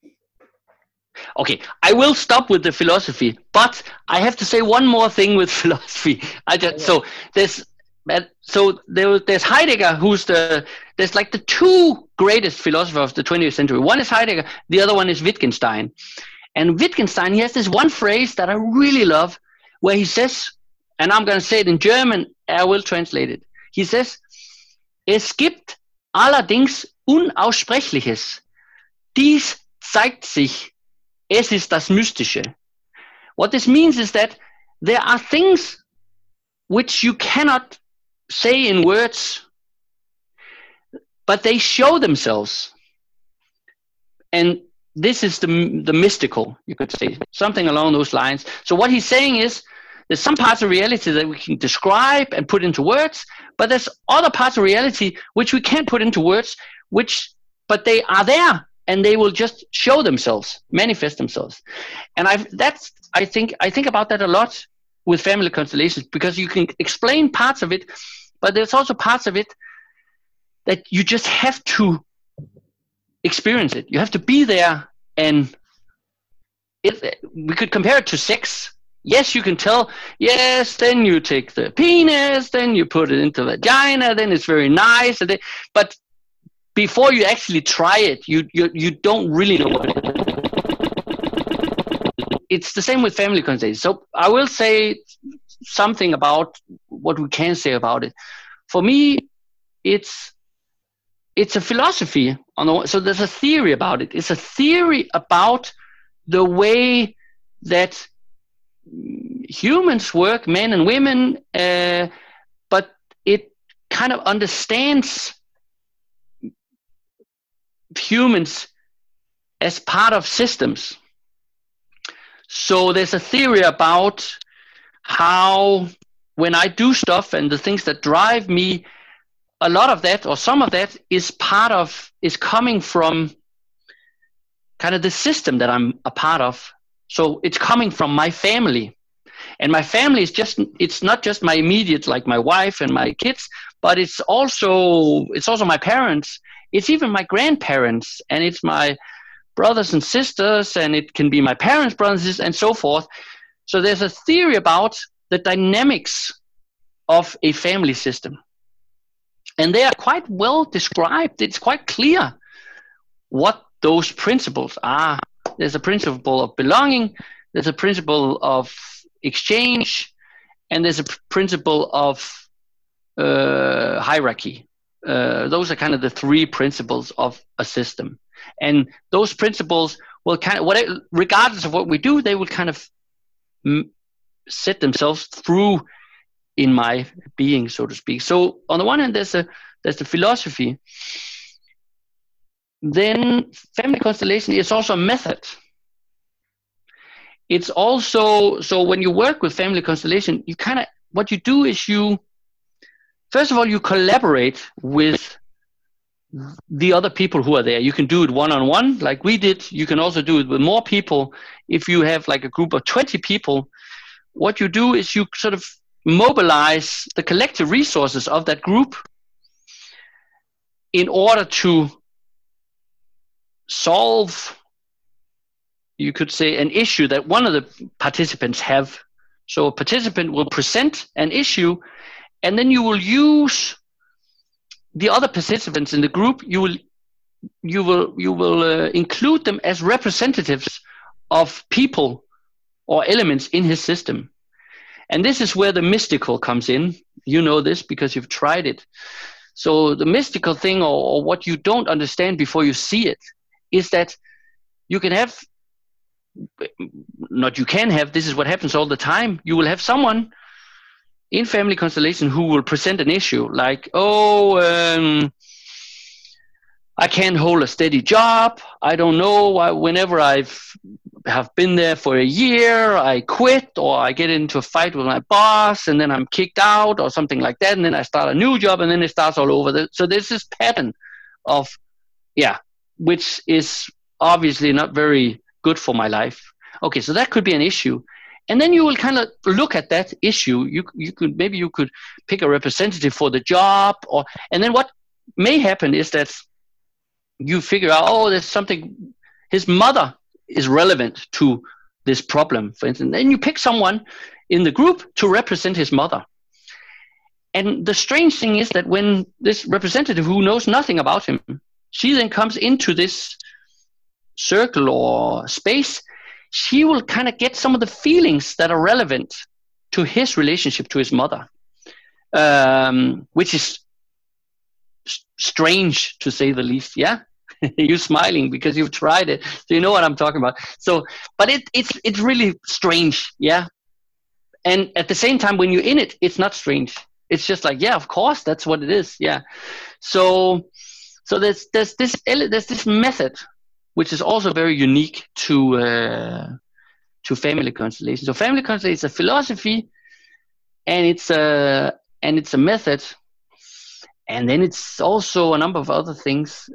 Okay, I will stop with the philosophy, but I have to say one more thing with philosophy. I just, yeah. So there's so there, there's Heidegger, who's the, there's like the two greatest philosophers of the twentieth century. One is Heidegger, the other one is Wittgenstein. And Wittgenstein, he has this one phrase that I really love, where he says, and I'm going to say it in German, I will translate it. He says, es gibt allerdings Unaussprechliches. Dies zeigt sich, es ist das Mystische. What this means is that there are things which you cannot say in words, but they show themselves. And this is the, the mystical, you could say, something along those lines. So what he's saying is, there's some parts of reality that we can describe and put into words, but there's other parts of reality which we can't put into words, which, but they are there and they will just show themselves, manifest themselves. And I that's I think I think about that a lot with family constellations, because you can explain parts of it, but there's also parts of it that you just have to experience it. You have to be there, and it, we could compare it to sex. Yes, you can tell, yes, then you take the penis, then you put it into the vagina, then it's very nice. And then, but before you actually try it, you, you, you don't really know what it is. It's the same with family constellations. So I will say something about what we can say about it. For me, it's it's a philosophy. On the, so there's a theory about it. It's a theory about the way that humans work, men and women, uh, but it kind of understands humans as part of systems. So there's a theory about how when I do stuff and the things that drive me, a lot of that or some of that is part of, is coming from kind of the system that I'm a part of. So it's coming from my family. And my family is just, it's not just my immediate, like my wife and my kids, but it's also, it's also my parents. It's even my grandparents, and it's my brothers and sisters, and it can be my parents' brothers and so forth. So there's a theory about the dynamics of a family system. And they are quite well described. It's quite clear what those principles are. there's a principle of belonging, there's a principle of exchange, and there's a pr- principle of uh, hierarchy. Uh, those are kind of the three principles of a system. And those principles will kind of, whatever, regardless of what we do, they will kind of m- set themselves through in my being, so to speak. So on the one hand, there's a there's the philosophy. Then family constellation is also a method. It's also, so when you work with family constellation, you kind of, what you do is you, first of all, you collaborate with the other people who are there. You can do it one-on-one like we did. You can also do it with more people. If you have like a group of twenty people, what you do is you sort of mobilize the collective resources of that group in order to solve, you could say, an issue that one of the participants have. So a participant will present an issue, and then you will use the other participants in the group. You will you will you will uh, include them as representatives of people or elements in his system. And this is where the mystical comes in. You know this because you've tried it. So the mystical thing, or, or what you don't understand before you see it, is that you can have, not you can have, this is what happens all the time. You will have someone in family constellation who will present an issue like, oh, um, I can't hold a steady job. I don't know. I, whenever I've have been there for a year, I quit, or I get into a fight with my boss, and then I'm kicked out, or something like that, and then I start a new job, and then it starts all over. So there's this pattern of, yeah, which is obviously not very good for my life. Okay, so that could be an issue. And then you will kind of look at that issue. You you could maybe you could pick a representative for the job, or and then what may happen is that you figure out, oh, there's something, his mother is relevant to this problem, for instance. Then you pick someone in the group to represent his mother. And the strange thing is that when this representative who knows nothing about him, she then comes into this circle or space, she will kind of get some of the feelings that are relevant to his relationship to his mother, um, which is s- strange to say the least. Yeah. You're smiling because you've tried it, so you know what I'm talking about. So, but it, it's it's really strange, yeah. And at the same time, when you're in it, it's not strange. It's just like, yeah, of course, that's what it is, yeah. So, so there's there's this there's this method, which is also very unique to uh, to family constellation. So, family constellation is a philosophy, and it's a and it's a method. And then it's also a number of other things.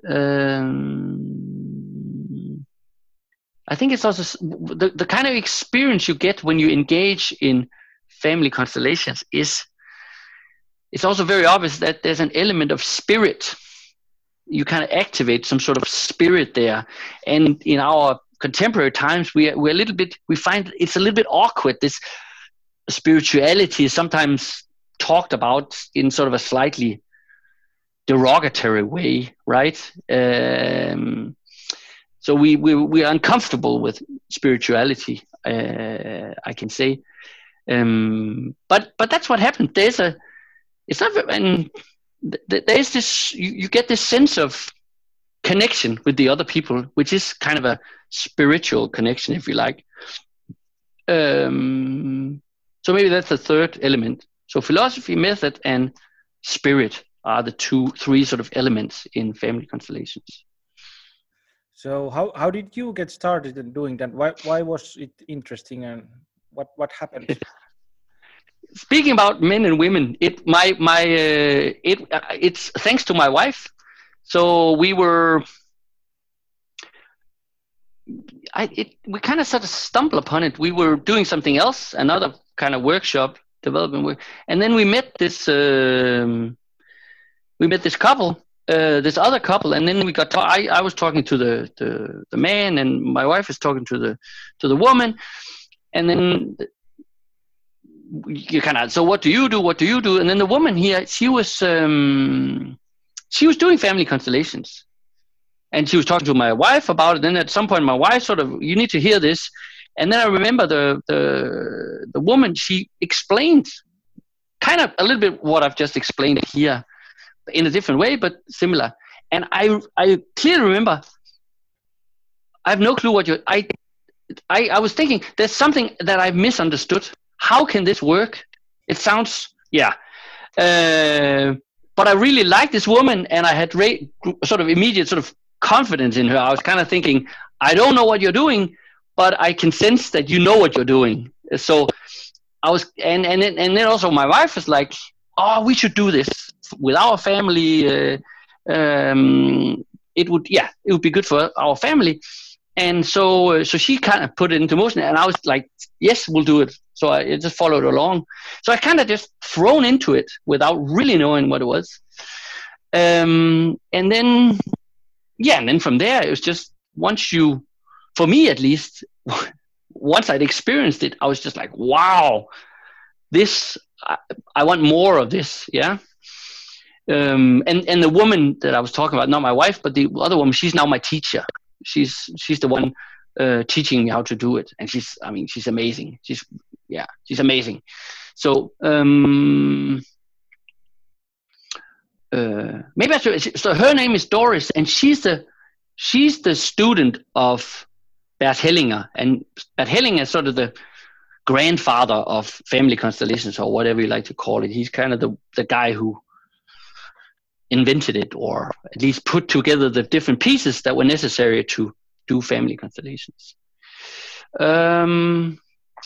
Um, I think it's also the, the kind of experience you get when you engage in family constellations is, it's also very obvious that there's an element of spirit. You kind of activate some sort of spirit there. And in our contemporary times, we are, we're a little bit, we find it's a little bit awkward. This spirituality is sometimes talked about in sort of a slightly derogatory way, right? Um, so we, we we are uncomfortable with spirituality, uh, I can say. Um, but but that's what happened. There's a, it's not, and th- there's this, you, you get this sense of connection with the other people, which is kind of a spiritual connection, if you like. Um, so maybe that's the third element. So philosophy, method, and spirit are the two, three sort of elements in family constellations. So how, how did you get started in doing that? Why why was it interesting, and what, what happened? Speaking about men and women, it my my uh, it uh, it's thanks to my wife. So we were, I it we kind of sort of stumbled upon it. We were doing something else, another kind of workshop development work, and then we met this. Um, We met this couple, uh, this other couple, and then we got. Ta- I, I was talking to the, the the man, and my wife was talking to the to the woman, and then you kind of. So what do you do? What do you do? And then the woman here, she was um, she was doing family constellations, and she was talking to my wife about it. Then at some point, my wife sort of, you need to hear this. And then I remember the the the woman, she explained kind of a little bit what I've just explained here in a different way, but similar. And I I clearly remember, I have no clue what you, I, I, I was thinking, there's something that I've misunderstood. How can this work? It sounds, yeah. Uh, but I really liked this woman, and I had ra- sort of immediate sort of confidence in her. I was kind of thinking, I don't know what you're doing, but I can sense that you know what you're doing. So I was, and and then, and then also my wife was like, oh, we should do this with our family. Uh, um, it would, yeah, it would be good for our family. And so, uh, so she kind of put it into motion, and I was like, yes, we'll do it. So I just followed along. So I kind of just thrown into it without really knowing what it was. Um, and then, yeah, and then from there, it was just once you, for me at least, once I'd experienced it, I was just like, wow, this, I, I want more of this. Yeah. Um, and, and the woman that I was talking about, not my wife, but the other woman, she's now my teacher. She's, she's the one uh, teaching me how to do it. And she's, I mean, she's amazing. She's, yeah, she's amazing. So, um, uh, maybe I should, so her name is Doris, and she's the, she's the student of Bert Hellinger, and Bert Hellinger is sort of the grandfather of family constellations, or whatever you like to call it. He's kind of the, the guy who invented it, or at least put together the different pieces that were necessary to do family constellations. Um,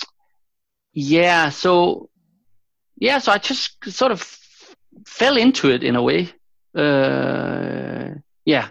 yeah, so yeah, so I just sort of fell into it in a way. Uh, yeah.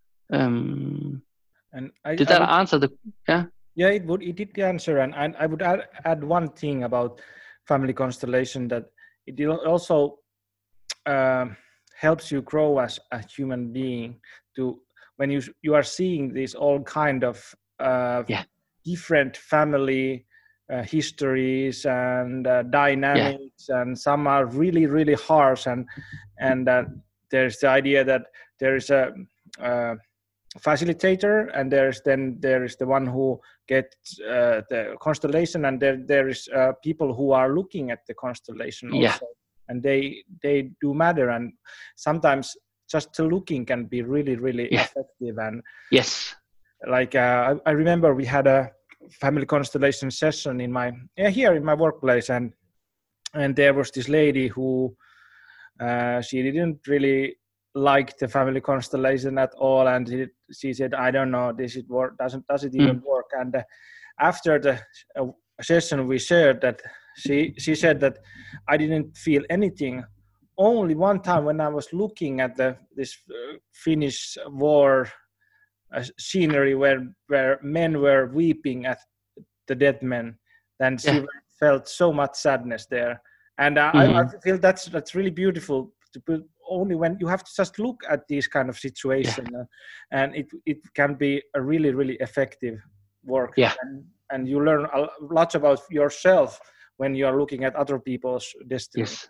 Um, and I, did I that would, answer the? Yeah. Yeah, it would. It did answer, and, and I would add, add one thing about family constellation, that it also uh, helps you grow as a human being. To when you you are seeing these all kind of uh, yeah. different family uh, histories and uh, dynamics, yeah. and some are really really harsh, and and uh, there's the idea that there is a uh, facilitator, and there's then there is the one who gets uh, the constellation, and there there is uh, people who are looking at the constellation also, yeah. and they they do matter, and sometimes just the looking can be really really yeah. effective. And yes, like uh, I, I remember we had a family constellation session in my yeah, here in my workplace, and and there was this lady who uh, she didn't really like the family constellation at all, and she, she said, I don't know, this it work doesn't does it even mm. work. And uh, after the uh, session we shared that she she said that I didn't feel anything, only one time when I was looking at the this uh, Finnish war uh, scenery where where men were weeping at the dead men, then she yeah. felt so much sadness there. And uh, mm-hmm. I, I feel that's that's really beautiful to put. Only when you have to just look at these kind of situations, yeah. uh, and it it can be a really really effective work. Yeah. And, and you learn a lot about yourself when you are looking at other people's destiny. Yes,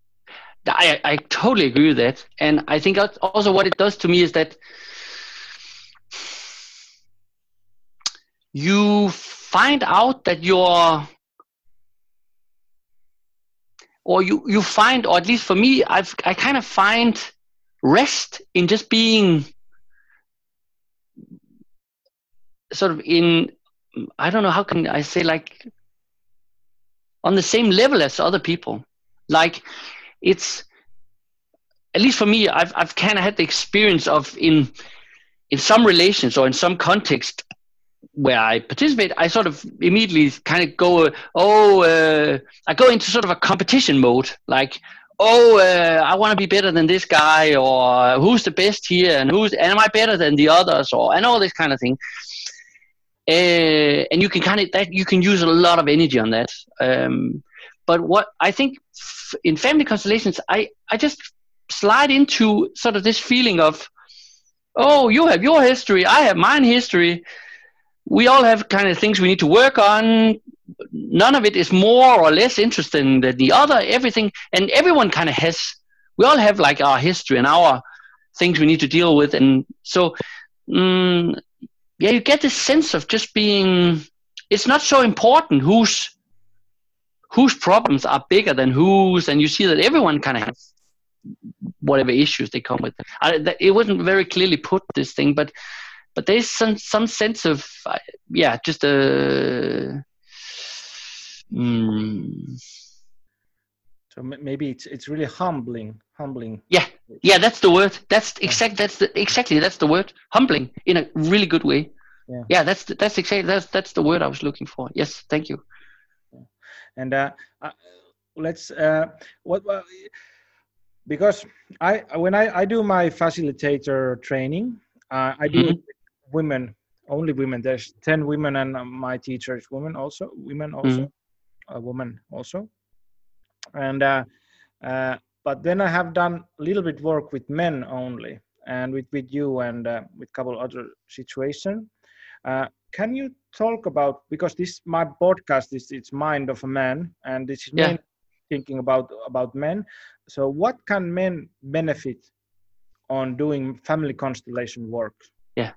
I I totally agree with that, and I think also what it does to me is that you find out that you're. Or you, you find, or at least for me, I've I kind of find rest in just being sort of in, I don't know, how can I say, like on the same level as other people. Like it's, at least for me, I've I've kind of had the experience of in in some relations or in some context where I participate, I sort of immediately kind of go, oh, uh, I go into sort of a competition mode, like, oh, uh, I want to be better than this guy, or who's the best here, and who's, and am I better than the others, or and all this kind of thing. Uh, and you can kind of that you can use a lot of energy on that. Um, but what I think f- in family constellations, I I just slide into sort of this feeling of, oh, you have your history, I have mine history. We all have kind of things we need to work on. None of it is more or less interesting than the other. Everything, and everyone kind of has, we all have like our history and our things we need to deal with. And so mm, yeah, you get this sense of just being. It's not so important whose whose problems are bigger than whose, and you see that everyone kind of has whatever issues they come with. I, it wasn't very clearly put, this thing, but but there's some some sense of uh, yeah, just a. Mm, so maybe it's it's really humbling, humbling. Yeah, yeah, that's the word. That's exact. That's the exactly that's the word. Humbling in a really good way. Yeah, yeah that's the, that's exactly that's that's the word I was looking for. Yes, thank you. And uh, uh, let's uh, what uh, because I when I, I do my facilitator training, uh, I do mm-hmm. it with women, only women. There's ten women, and my teacher is women also. Women also, mm-hmm. a woman also, and uh, uh, but then I have done a little bit work with men only, and with with you and uh, with a couple other situations. Uh, can you talk about, because this my podcast is it's Mind of a Man, and this is yeah. mainly thinking about about men. So what can men benefit on doing family constellation work? Yeah,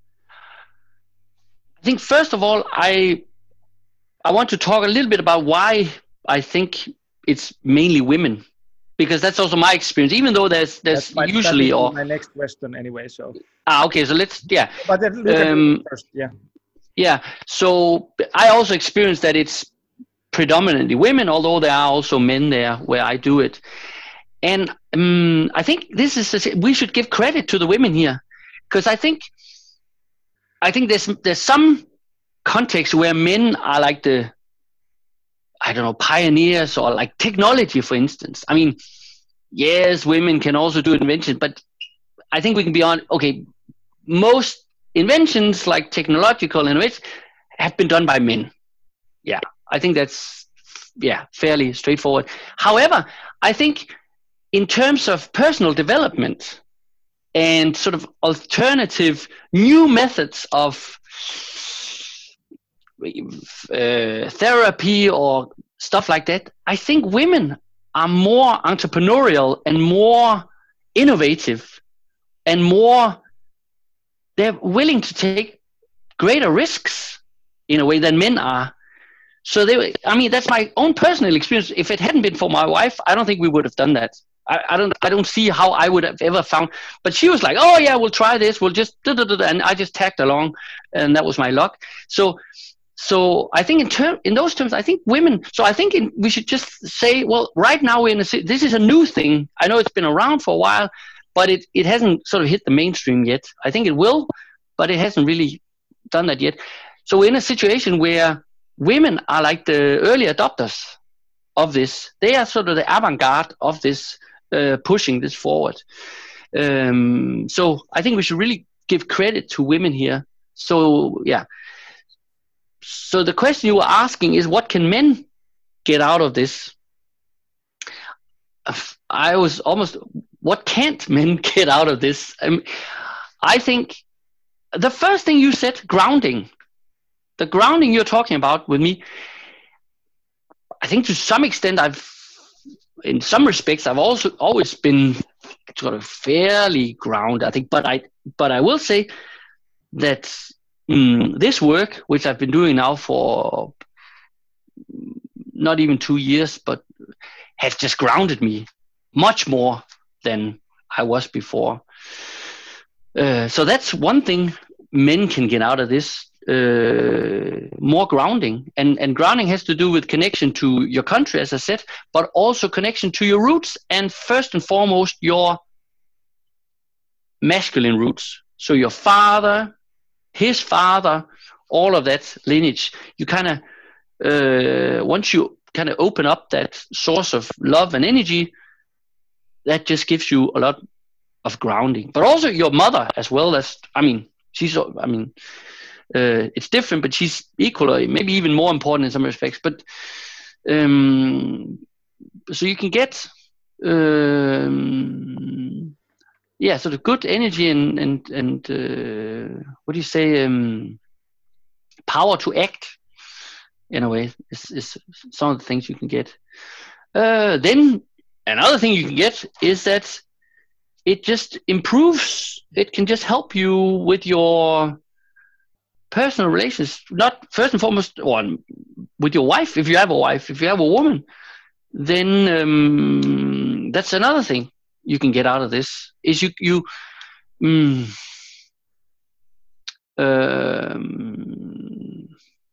I think first of all, I I want to talk a little bit about why I think it's mainly women, because that's also my experience. Even though there's there's my, usually or my next question anyway. So ah okay, so let's yeah. But then look um, at first, yeah. Yeah, so I also experienced that it's predominantly women, although there are also men there where I do it. And um, I think this is we should give credit to the women here, because I think I think there's there's some context where men are like the I don't know pioneers, or like technology, for instance. I mean, yes, women can also do inventions, but I think we can be on okay. Most inventions, like technological innovations, have been done by men. Yeah, I think that's yeah fairly straightforward. However, I think in terms of personal development and sort of alternative new methods of uh, therapy or stuff like that, I think women are more entrepreneurial and more innovative and more. They're willing to take greater risks in a way than men are. So they, I mean, that's my own personal experience. If it hadn't been for my wife, I don't think we would have done that. I, I don't, I don't see how I would have ever found. But she was like, "Oh yeah, we'll try this. We'll just," da, da, da, da, and I just tagged along, and that was my luck. So, so I think in term, in those terms, I think women. So I think in, we should just say, well, right now we're in a. This is a new thing. I know it's been around for a while, but it, it hasn't sort of hit the mainstream yet. I think it will, but it hasn't really done that yet. So we're in a situation where women are like the early adopters of this. They are sort of the avant-garde of this, uh, pushing this forward. Um, so I think we should really give credit to women here. So yeah. So the question you were asking is, what can men get out of this? I was almost, what can't men get out of this? I mean, I think the first thing you said, grounding, the grounding you're talking about with me, I think to some extent I've, in some respects, I've also always been sort of fairly grounded, I think, but I, but I will say that mm, this work, which I've been doing now for not even two years, but has just grounded me much more than I was before. Uh, so that's one thing men can get out of this, uh, more grounding. And, and grounding has to do with connection to your country, as I said, but also connection to your roots, and first and foremost, your masculine roots. So your father, his father, all of that lineage, you kind of, uh, once you kind of open up that source of love and energy, that just gives you a lot of grounding. But also your mother as well. As I mean, she's, I mean, uh, it's different, but she's equally, maybe even more important in some respects. But um, so you can get, um, yeah, sort of good energy and and and uh, what do you say, um, power to act. In a way, is, is some of the things you can get. Uh, then another thing you can get is that it just improves. It can just help you with your personal relations, not first and foremost, or with your wife. If you have a wife, if you have a woman, then um, that's another thing you can get out of this. Is you you mm, um,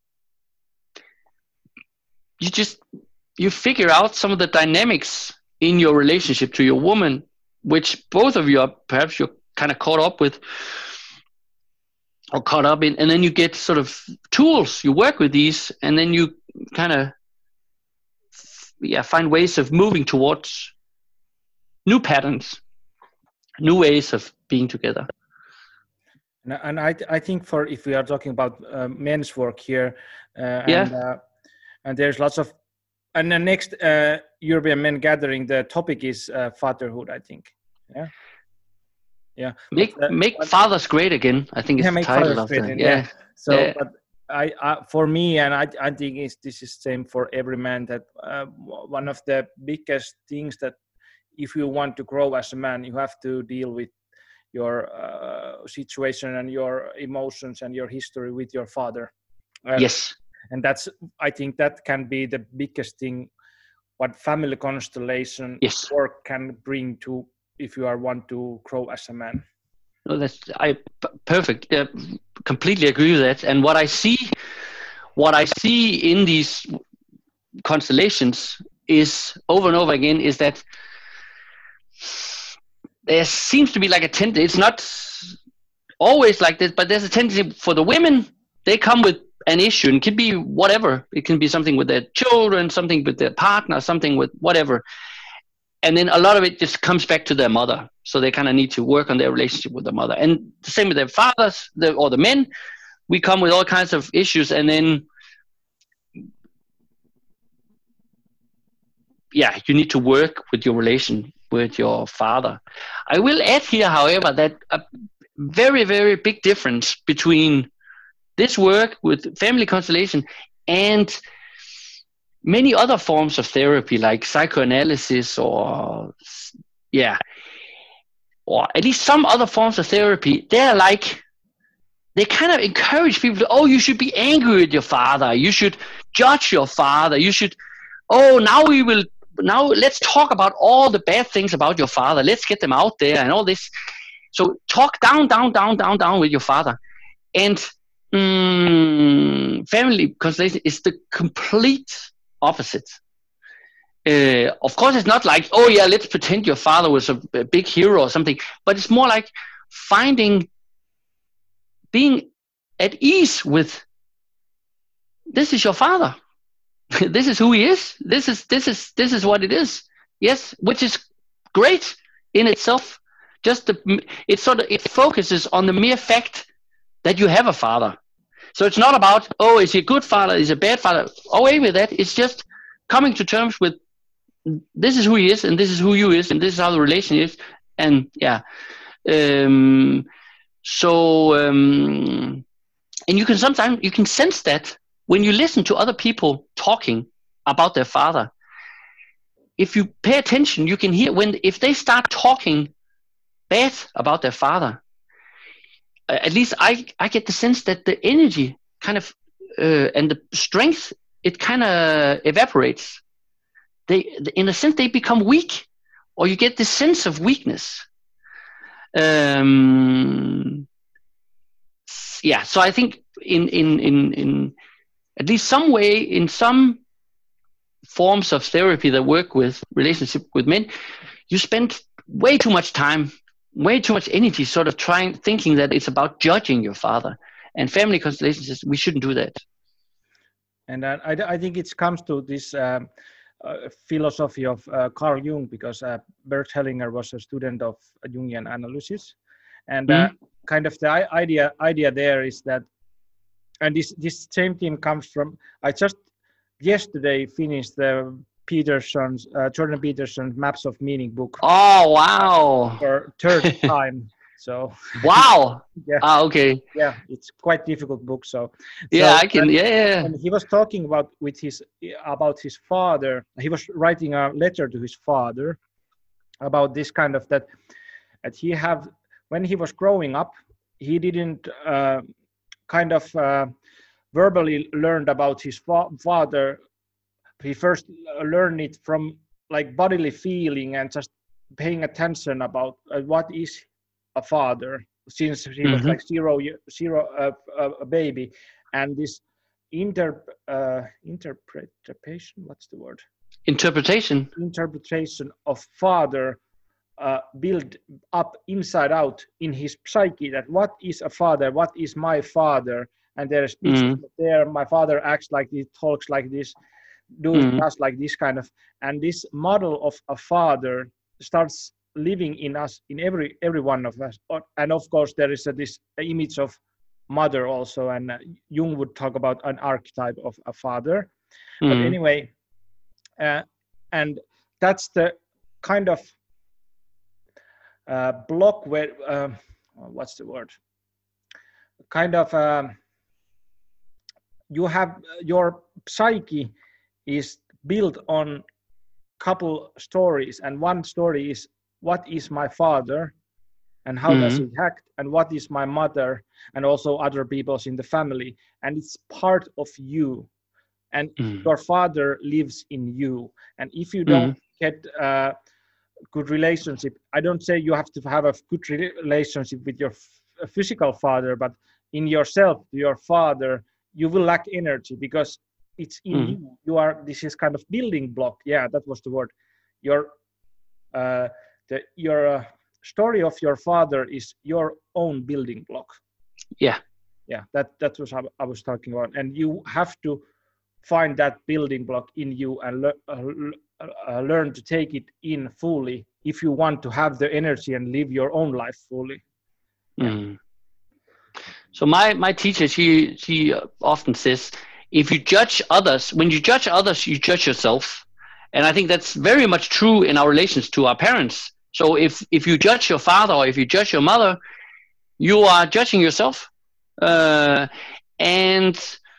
you just you figure out some of the dynamics in your relationship to your woman, which both of you are perhaps you're kind of caught up with or caught up in, and then you get sort of tools. You work with these, and then you kind of yeah find ways of moving towards new patterns, new ways of being together. And, and I I think for if we are talking about uh, men's work here, uh, Yeah. and uh, and there's lots of, and the next uh, European Men Gathering, the topic is uh, fatherhood, I think. Yeah. Yeah. Make But, uh, make but- fathers great again. I think it's Yeah, the make title fathers of great the again, yeah. yeah. So, Yeah. but I, I, for me, and I, I think it's, this is same for every man, that uh, one of the biggest things that if you want to grow as a man, you have to deal with your uh, situation and your emotions and your history with your father. Uh, Yes. And that's, I think that can be the biggest thing what family constellation Yes. work can bring to if you are want to grow as a man. No, that's I p- perfect. Yeah, completely agree with that. And what I see, what I see in these constellations is over and over again is that there seems to be like a tendency. It's not always like this, but there's a tendency for the women. They come with an issue, and it can be whatever. It can be something with their children, something with their partner, something with whatever. And then a lot of it just comes back to their mother. So they kind of need to work on their relationship with their mother. And the same with their fathers the, or the men. We come with all kinds of issues. And then, yeah, you need to work with your relation with your father. I will add here, however, that a very, very big difference between this work with family constellation and many other forms of therapy like psychoanalysis or yeah or at least some other forms of therapy, they're like they kind of encourage people to, oh, you should be angry at your father, you should judge your father, you should oh now we will now let's talk about all the bad things about your father, let's get them out there and all this. So talk down down down down down with your father. And mm, family constellation is the complete opposite. Uh, of course, it's not like, oh yeah, let's pretend your father was a, a big hero or something, but it's more like finding, being at ease with, this is your father. This is who he is. This is this is this is what it is. Yes, which is great in itself. Just the, it sort of it focuses on the mere fact that you have a father. So it's not about, oh, is he a good father? Is he a bad father? Away with that. It's just coming to terms with, this is who he is, and this is who you is, and this is how the relation is. And yeah. Um, so, um, and you can sometimes, you can sense that when you listen to other people talking about their father. If you pay attention, you can hear when, if they start talking bad about their father, at least I, I get the sense that the energy kind of uh, and the strength, it kind of evaporates. They, in a sense, they become weak, or you get this sense of weakness. Um, yeah, so I think in, in, in, in at least some way, in some forms of therapy that work with relationship with men, you spend way too much time, way too much energy sort of trying, thinking that it's about judging your father. And family constellations, we shouldn't do that. And uh, I, I think it comes to this um, uh, philosophy of uh, Carl Jung, because uh, Bert Hellinger was a student of Jungian analysis. And uh, Mm-hmm. kind of the idea idea there is that, and this, this same thing comes from, I just yesterday finished the Peterson's, uh, Jordan Peterson's Maps of Meaning book. Oh, wow. For third time. So wow. Yeah. Ah, okay. Yeah, it's quite difficult book. So yeah, so, I can. and, Yeah, yeah. And he was talking about with his about his father. He was writing a letter to his father about this kind of that. that he have when he was growing up, he didn't uh, kind of uh, verbally learned about his fa- father. He first learned it from like bodily feeling and just paying attention about uh, what is a father, since he mm-hmm. was like zero zero uh, uh, a baby. And this inter uh, interpretation, what's the word? Interpretation. Interpretation of father uh, build up inside out in his psyche, that what is a father, what is my father, and there's speeches mm. there. My father acts like this, talks like this, does mm. does like this kind of, and this model of a father starts living in us, in every every one of us. And of course, there is a, this image of mother also, and uh, Jung would talk about an archetype of a father. Mm. But anyway, uh, and that's the kind of uh, block where uh, what's the word? Kind of um, you have your psyche is built on couple stories, and one story is what is my father and how mm-hmm. does it act, and what is my mother and also other people's in the family, and it's part of you, and mm-hmm. your father lives in you. And if you don't mm-hmm. get a good relationship, I don't say you have to have a good relationship with your f- physical father, but in yourself, your father, you will lack energy because it's in mm. you. You are, this is kind of building block. Yeah, that was the word. Your, uh, the, your uh, story of your father is your own building block. Yeah. Yeah, that, that was what I was talking about. And you have to find that building block in you and le- uh, uh, learn to take it in fully if you want to have the energy and live your own life fully. Yeah. Mm. So my, my teacher, she, she often says, if you judge others, when you judge others, you judge yourself. And I think that's very much true in our relations to our parents. So if, if you judge your father or if you judge your mother, you are judging yourself. Uh, and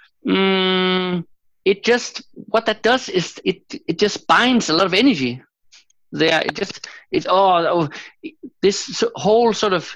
um, it just, what that does is it, it just binds a lot of energy there. It just, it's, oh, oh this whole sort of,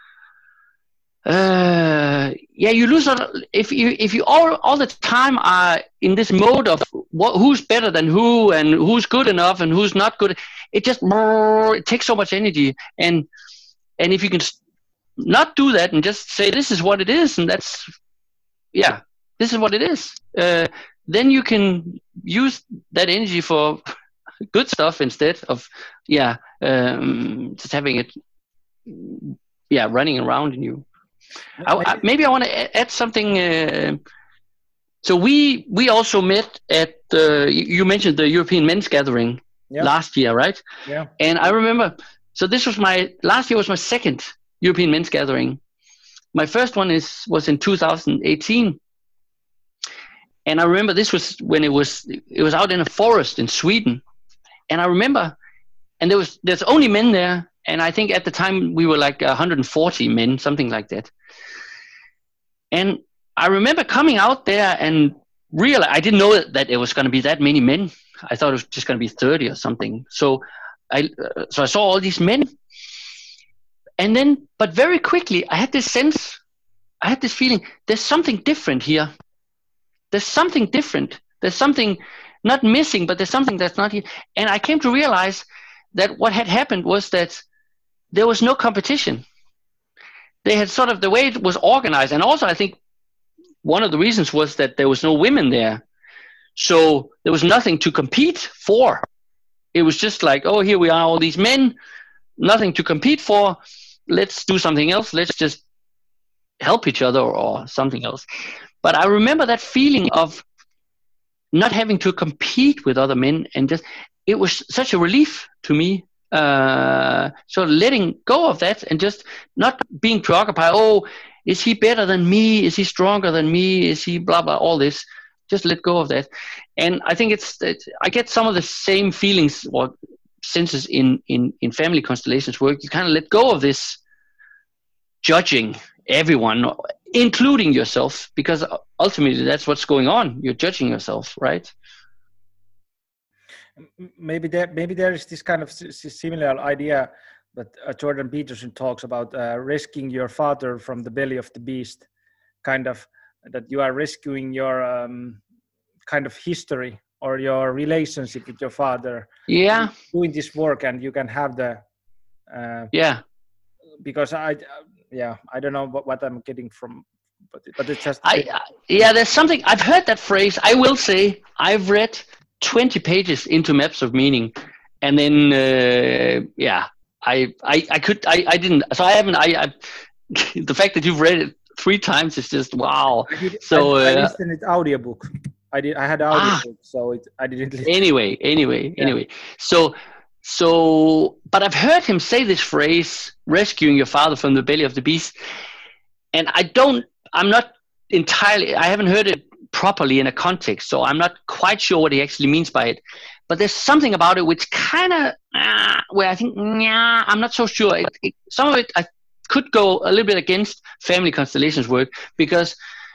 uh yeah you lose a, if you if you all all the time are in this mode of what, who's better than who and who's good enough and who's not good, it just it takes so much energy. And and if you can not do that and just say this is what it is, and that's yeah this is what it is, uh then you can use that energy for good stuff instead of yeah um just having it yeah running around in you. I, I, maybe I want to add something. Uh, so we we also met at the, you mentioned the European Men's Gathering yep. last year, right? Yeah. And I remember, so this was my, last year was my second European Men's Gathering. My first one is was in two thousand eighteen. And I remember this was when it was, it was out in a forest in Sweden. And I remember, and there was, there's only men there. And I think at the time we were like one hundred forty men, something like that. And I remember coming out there and realize I didn't know that it was going to be that many men. I thought it was just going to be thirty or something. So I, uh, so I saw all these men. And then, but very quickly, I had this sense, I had this feeling, there's something different here. There's something different. There's something not missing, but there's something that's not here. And I came to realize that what had happened was that there was no competition. They had sort of, the way it was organized, and also I think one of the reasons was that there was no women there. So there was nothing to compete for. It was just like, oh, here we are, all these men, nothing to compete for. Let's do something else. Let's just help each other or something else. But I remember that feeling of not having to compete with other men, and just, it was such a relief to me. Uh, so letting go of that and just not being preoccupied. Oh, is he better than me? Is he stronger than me? Is he blah, blah, all this. Just let go of that. And I think it's, it's I get some of the same feelings or senses in, in, in family constellations work. You kind of let go of this judging everyone, including yourself, because ultimately that's what's going on. You're judging yourself, right? Maybe there, maybe there is this kind of similar idea but uh, Jordan Peterson talks about uh, rescuing your father from the belly of the beast, kind of that you are rescuing your um, kind of history or your relationship with your father. Yeah. Doing this work, and you can have the. Uh, yeah. Because I, uh, yeah, I don't know what, what I'm getting from, but but it's just. I, I yeah, there's something I've heard that phrase. I will say I've read twenty pages into Maps of Meaning, and then uh, yeah, I, I I could I, I didn't. So I haven't. I, I the fact that you've read it three times is just wow. I did, so I, I uh, listened to audiobook. I did. I had audiobook, ah, so it, I didn't listen. Anyway, anyway, yeah. anyway. So. So, but I've heard him say this phrase, rescuing your father from the belly of the beast. And I don't, I'm not entirely, I haven't heard it properly in a context. So I'm not quite sure what he actually means by it. But there's something about it which kind of, uh, where I think, nah, I'm not so sure. It, it, some of it I could go a little bit against family constellations work, because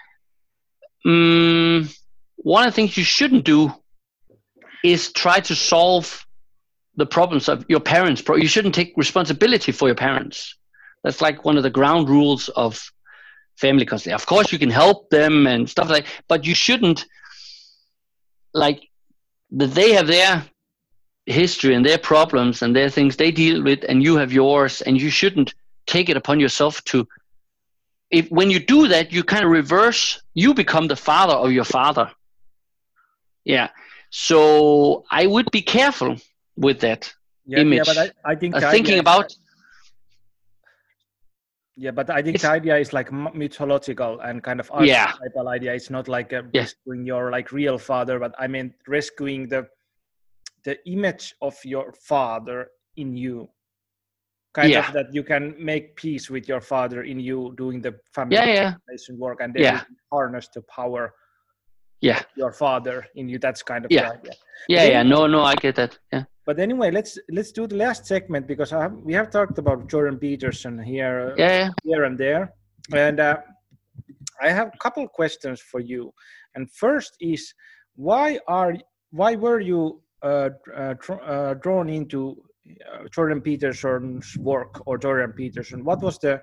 um, one of the things you shouldn't do is try to solve the problems of your parents. You shouldn't take responsibility for your parents. That's like one of the ground rules of family constellation. Of course, you can help them and stuff like that, but you shouldn't, like, that they have their history and their problems and their things they deal with, and you have yours, and you shouldn't take it upon yourself to, if when you do that, you kind of reverse, you become the father of your father. Yeah. So I would be careful with that yeah, image. Yeah, but I, I think uh, thinking about. Yeah, but I think the idea is like mythological and kind of yeah. archetypal idea. It's not like a yeah. rescuing your like real father, but I mean rescuing the the image of your father in you. Kind yeah. of that you can make peace with your father in you doing the family yeah, yeah. work, and then yeah. you can harness the power. Yeah. Your father in you. That's kind of yeah. the idea. Yeah, then, yeah. No, no, I get that. Yeah. But anyway, let's let's do the last segment, because I have, we have talked about Jordan Peterson here, yeah, yeah. here and there, and uh, I have a couple questions for you. And first is, why are why were you uh, uh, uh, drawn into uh, Jordan Peterson's work, or Jordan Peterson? What was the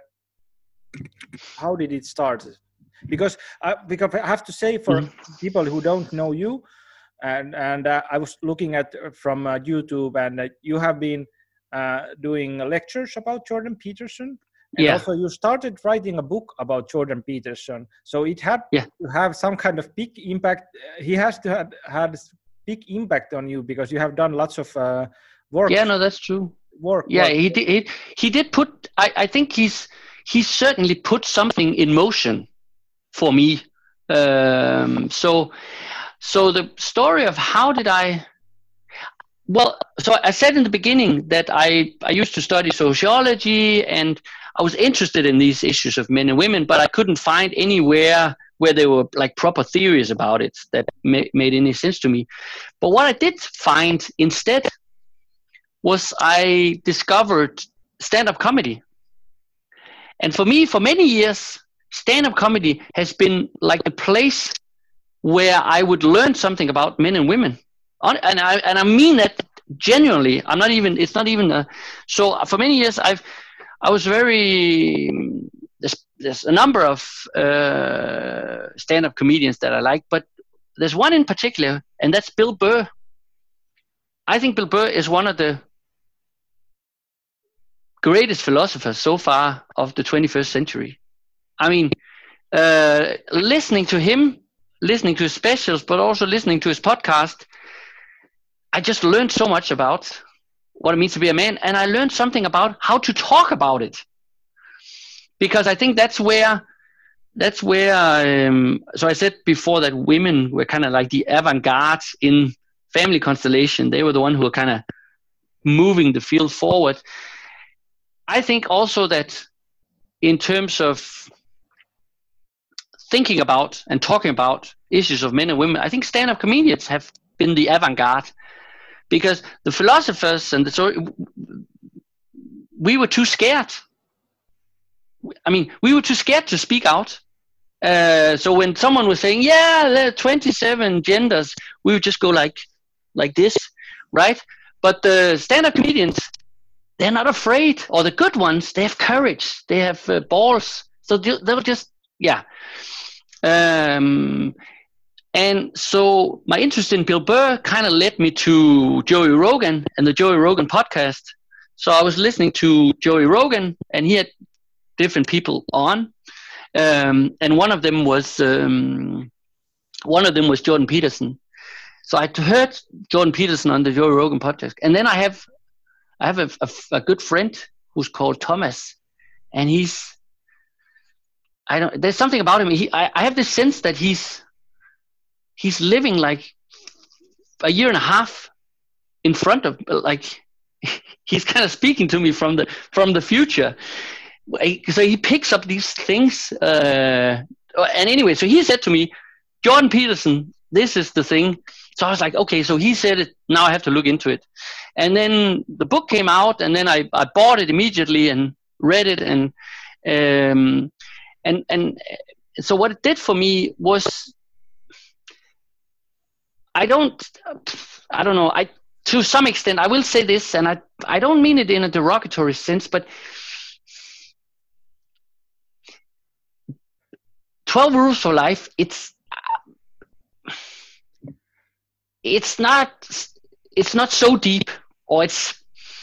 how did it start? Because I, because I have to say, for mm-hmm. people who don't know you. And and uh, I was looking at uh, from uh, YouTube, and uh, you have been uh, doing lectures about Jordan Peterson, and yeah. also you started writing a book about Jordan Peterson. So it had yeah. to have some kind of big impact. He has to have had big impact on you, because you have done lots of uh, work. Yeah, no, that's true. Work. Yeah, work. he did. He, he did put. I, I think he's he certainly put something in motion for me. Um, so. So the story of how did I, well, so I said in the beginning that I, I used to study sociology, and I was interested in these issues of men and women, but I couldn't find anywhere where there were like proper theories about it that ma- made any sense to me. But what I did find instead was I discovered stand-up comedy. And for me, for many years, stand-up comedy has been like the place where I would learn something about men and women, and I and I mean that genuinely. I'm not even. It's not even. A, so for many years, I've I was very. There's there's a number of uh, stand-up comedians that I like, but there's one in particular, and that's Bill Burr. I think Bill Burr is one of the greatest philosophers so far of the twenty-first century. I mean, uh, listening to him. Listening to his specials, but also listening to his podcast, I just learned so much about what it means to be a man, and I learned something about how to talk about it. Because I think that's where, that's where. Um, so I said before that women were kind of like the avant-garde in family constellation. They were the one who were kind of moving the field forward. I think also that in terms of thinking about and talking about issues of men and women, I think stand-up comedians have been the avant-garde, because the philosophers and the story, we were too scared. I mean, we were too scared to speak out. Uh, so when someone was saying, yeah, there are twenty-seven genders, we would just go like, like this, right? But the stand-up comedians, they're not afraid. Or the good ones, they have courage. They have uh, balls. So they'll, they'll just, yeah. Um, and so my interest in Bill Burr kind of led me to Joey Rogan and the Joey Rogan podcast. So I was listening to Joey Rogan, and he had different people on, um, and one of them was um, one of them was Jordan Peterson. So I heard Jordan Peterson on the Joey Rogan podcast, and then I have I have a, a, a good friend who's called Thomas, and he's I don't there's something about him. He, I, I have this sense that he's he's living like a year and a half in front of, like, he's kind of speaking to me from the from the future. So he picks up these things, uh, and anyway, so he said to me, Jordan Peterson, this is the thing. So I was like, okay, so he said it, now I have to look into it. And then the book came out, and then I, I bought it immediately and read it, and um, and and so what it did for me was, I don't I don't know I to some extent, I will say this, and I, I don't mean it in a derogatory sense, but twelve Rules for Life, it's it's not it's not so deep, or it's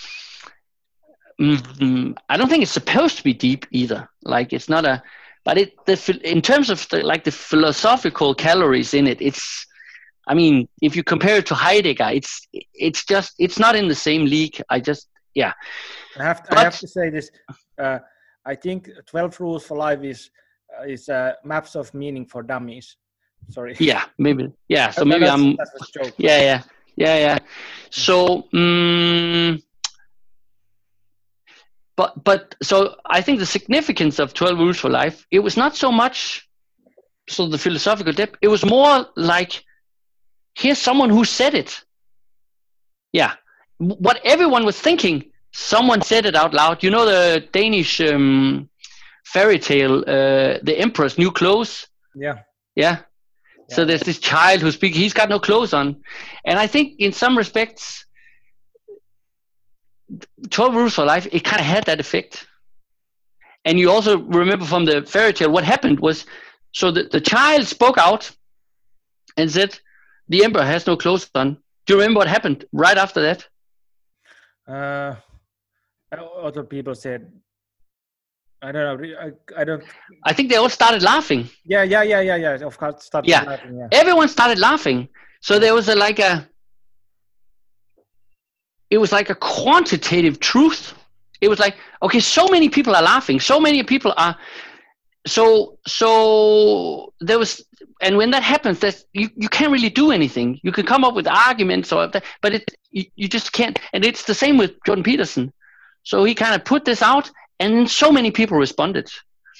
mm, I don't think it's supposed to be deep either. Like, it's not a, but it the in terms of the, like the philosophical calories in it, it's, I mean, if you compare it to Heidegger, it's it's just it's not in the same league. I just yeah. I have to, but, I have to say this. Uh, I think twelve Rules for Life is uh, is uh, maps of meaning for dummies. Sorry. Yeah, maybe. Yeah, so That- maybe that's, I'm. That's a joke. Yeah, yeah, yeah, yeah. So, um, but but so I think the significance of twelve Rules for Life, it was not so much so the philosophical depth. It was more like, here's someone who said it. Yeah, what everyone was thinking, someone said it out loud. You know the Danish um, fairy tale, uh, The Emperor's New Clothes? Yeah. Yeah. So there's this child who's speaking, he's got no clothes on. And I think in some respects, twelve Rules for Life, it kind of had that effect. And you also remember from the fairy tale, what happened was, so the, the child spoke out and said, the emperor has no clothes on. Do you remember what happened right after that? Uh, other people said, I don't know. I, I don't. I think they all started laughing. Yeah, yeah, yeah, yeah, yeah. Of course, started Yeah. laughing. Yeah. Everyone started laughing. So there was a like a, it was like a quantitative truth. It was like, okay, so many people are laughing. So many people are, so, so there was, and when that happens, that's, you, you can't really do anything. You can come up with arguments or that, but it, you, you just can't. And it's the same with Jordan Peterson. So he kind of put this out, and then so many people responded,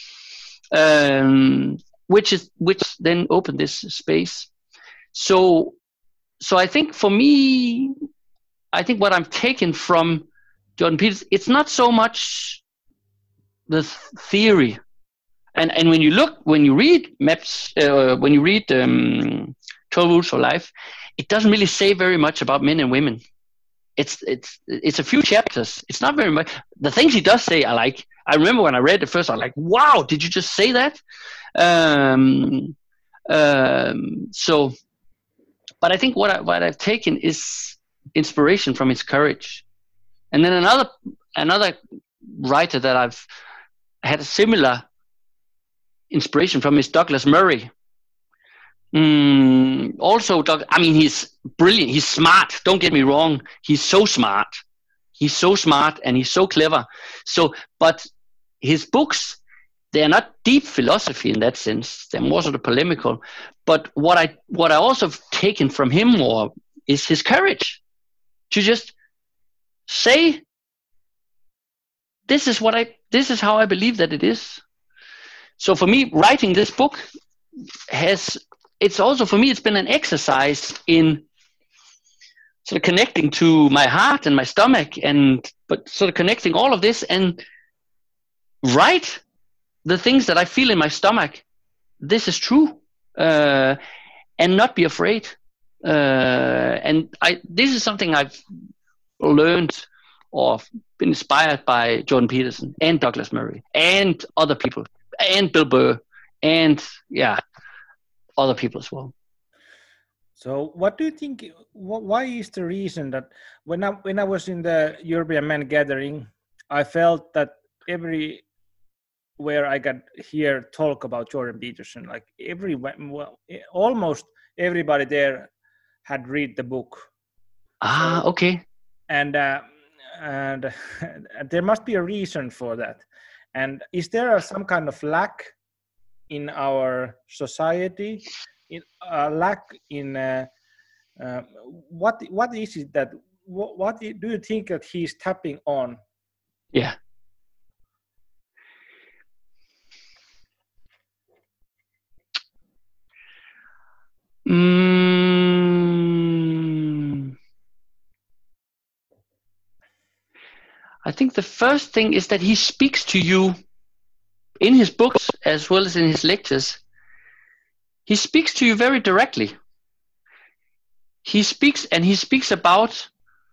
um, which is which then opened this space. So, so I think for me, I think what I'm taking from Jordan Peterson, it's not so much the theory, and and when you look, when you read maps, uh, when you read um, twelve Rules for Life, it doesn't really say very much about men and women. It's it's it's a few chapters. It's not very much. The things he does say, I like. I remember when I read it first, I was like, "Wow, did you just say that?" Um, um, so, but I think what I, what I've taken is inspiration from his courage, and then another another writer that I've had a similar inspiration from is Douglas Murray. Mm, also, Doug, I mean, he's brilliant. He's smart. Don't get me wrong. He's so smart. He's so smart and he's so clever. So, but his books, they are not deep philosophy in that sense. They're more sort of polemical. But what I what I also have taken from him more is his courage to just say, "This is what I. This is how I believe that it is." So for me, writing this book has. It's also, for me, it's been an exercise in sort of connecting to my heart and my stomach, and but sort of connecting all of this and write the things that I feel in my stomach. This is true, uh, and not be afraid. Uh, and I, this is something I've learned or been inspired by Jordan Peterson and Douglas Murray and other people and Bill Burr and yeah, other people as well. So what do you think, why is the reason that when I, when I was in the European Men Gathering, I felt that everywhere I got hear talk about Jordan Peterson, like every, well, almost everybody there had read the book. Ah, so, okay. And, uh, and there must be a reason for that. And is there some kind of lack in our society? In a uh, lack in uh, uh, what what is it that what, what do you think that he's tapping on? Yeah. Mm, I think the first thing is that he speaks to you in his books as well as in his lectures. He speaks to you very directly. He speaks and he speaks about,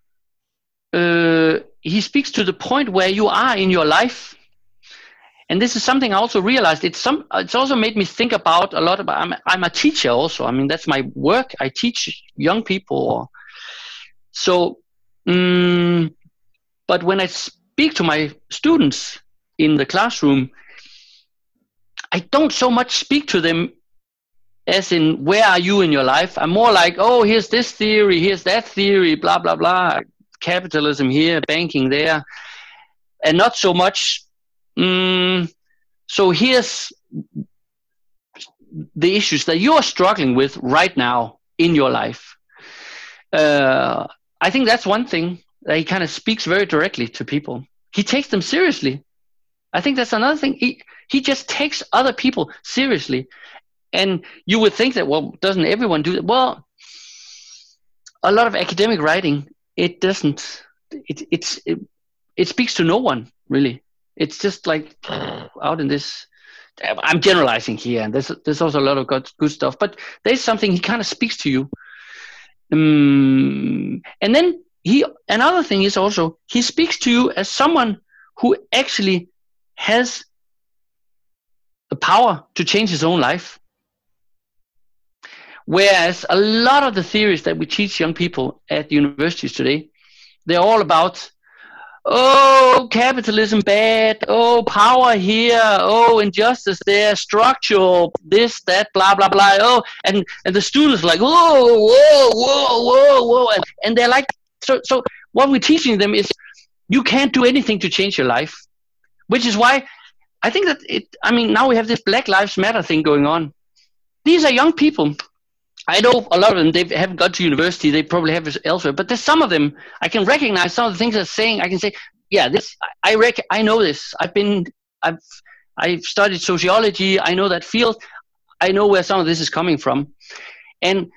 uh, he speaks to the point where you are in your life. And this is something I also realized. It's some. It's also made me think about a lot about, I'm, I'm a teacher also. I mean, that's my work. I teach young people. So, um, but when I speak to my students in the classroom, I don't so much speak to them as in, where are you in your life? I'm more like, oh, here's this theory, here's that theory, blah, blah, blah. Capitalism here, banking there. And not so much, um, so here's the issues that you're struggling with right now in your life. Uh, I think that's one thing that he kind of speaks very directly to people. He takes them seriously. I think that's another thing. He, he just takes other people seriously. And you would think that, well, doesn't everyone do that? Well, a lot of academic writing, it doesn't, it, it's, it, it speaks to no one, really. It's just like out in this, I'm generalizing here, and there's, there's also a lot of good, good stuff, but there's something, he kind of speaks to you. Um, and then he, another thing is also, he speaks to you as someone who actually has the power to change his own life. Whereas a lot of the theories that we teach young people at universities today, they're all about, oh, capitalism bad, oh, power here, oh, injustice there, structural, this, that, blah, blah, blah, oh, and, and the students are like, whoa, whoa, whoa, whoa, whoa, and, and they're like, so, so what we're teaching them is, you can't do anything to change your life, which is why I think that it, I mean, now we have this Black Lives Matter thing going on. These are young people. I know a lot of them, they haven't gone to university, they probably have it elsewhere, but there's some of them, I can recognize some of the things they're saying. I can say, yeah, this, I rec- I know this. I've been, I've, I've studied sociology. I know that field. I know where some of this is coming from. And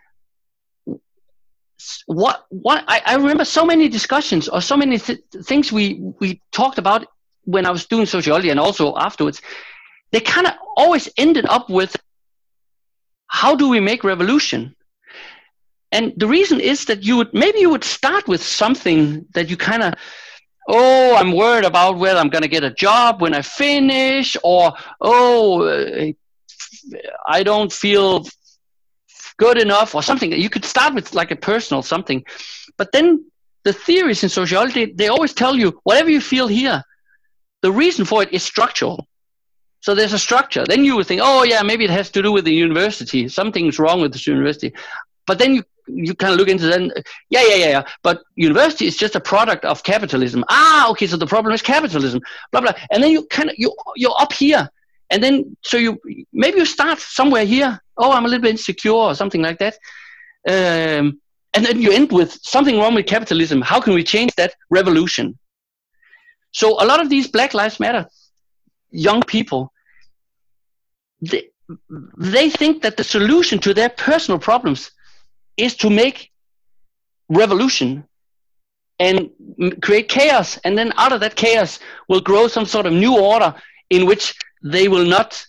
what, what, I, I remember so many discussions or so many th- things we, we talked about when I was doing sociology and also afterwards. They kind of always ended up with, how do we make revolution? And the reason is that you would, maybe you would start with something that you kind of, oh, I'm worried about whether I'm going to get a job when I finish, or, oh, I don't feel good enough, or something. You could start with like a personal something. But then the theories in sociology, they always tell you, whatever you feel here, the reason for it is structural. So there's a structure. Then you would think, oh yeah, maybe it has to do with the university. Something's wrong with this university. But then you you kind of look into that. And, yeah, yeah, yeah, yeah. But university is just a product of capitalism. Ah, okay. So the problem is capitalism. Blah blah. And then you kind of you you're up here, and then so you maybe you start somewhere here. Oh, I'm a little bit insecure or something like that. Um, and then you end with something wrong with capitalism. How can we change that? Revolution. So a lot of these Black Lives Matter young people, they, they think that the solution to their personal problems is to make revolution and create chaos, and then out of that chaos will grow some sort of new order in which they will not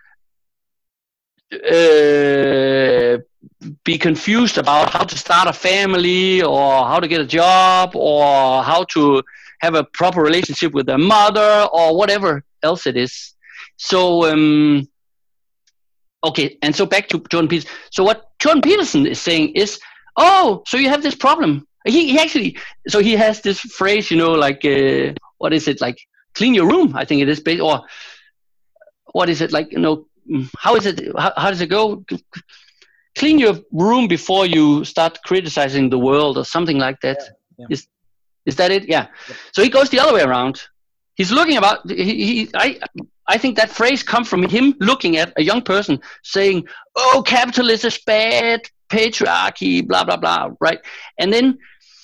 uh, be confused about how to start a family or how to get a job or how to have a proper relationship with their mother or whatever else it is. So, um, okay, and so back to Jordan Peterson. So what Jordan Peterson is saying is, oh, so you have this problem. He, he actually, so he has this phrase, you know, like, uh, what is it, like, clean your room, I think it is, or what is it, like, you know, how is it, how, how does it go? Clean your room before you start criticizing the world or something like that. Yeah, yeah. Is is that it? Yeah. yeah. So he goes the other way around. He's looking about, he, he, I, I think that phrase comes from him looking at a young person saying, oh, capitalism is bad, patriarchy, blah, blah, blah, right? And then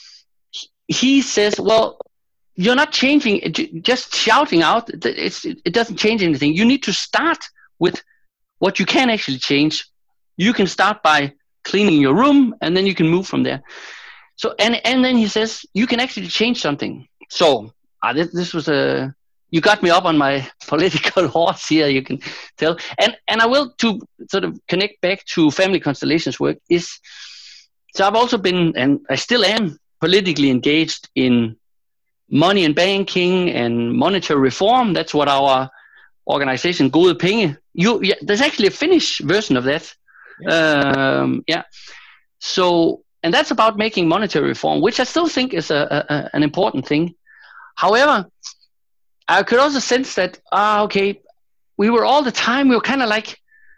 he says, well, you're not changing, just shouting out, it's, it doesn't change anything. You need to start with what you can actually change. You can start by cleaning your room, and then you can move from there. So, and, and then he says, you can actually change something. So, uh, this, this was a, you got me up on my political horse here, you can tell. And, and I will, to sort of connect back to Family Constellations work, is, so I've also been, and I still am, politically engaged in money and banking and monetary reform. That's what our organization, Gode Penge, you, yeah, there's actually a Finnish version of that. Yeah. Um, yeah. So, and that's about making monetary reform, which I still think is a, a, an important thing. However, I could also sense that, ah, okay, we were all the time, we were kind of like,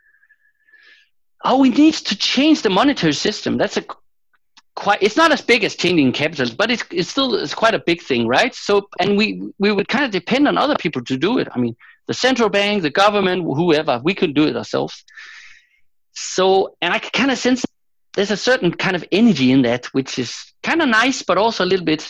oh, we need to change the monetary system. That's a quite, it's not as big as changing capital, but it's, it's still, it's quite a big thing, right? So, and we, we would kind of depend on other people to do it. I mean, the central bank, the government, whoever, we couldn't do it ourselves. So, and I can kind of sense there's a certain kind of energy in that, which is kind of nice, but also a little bit.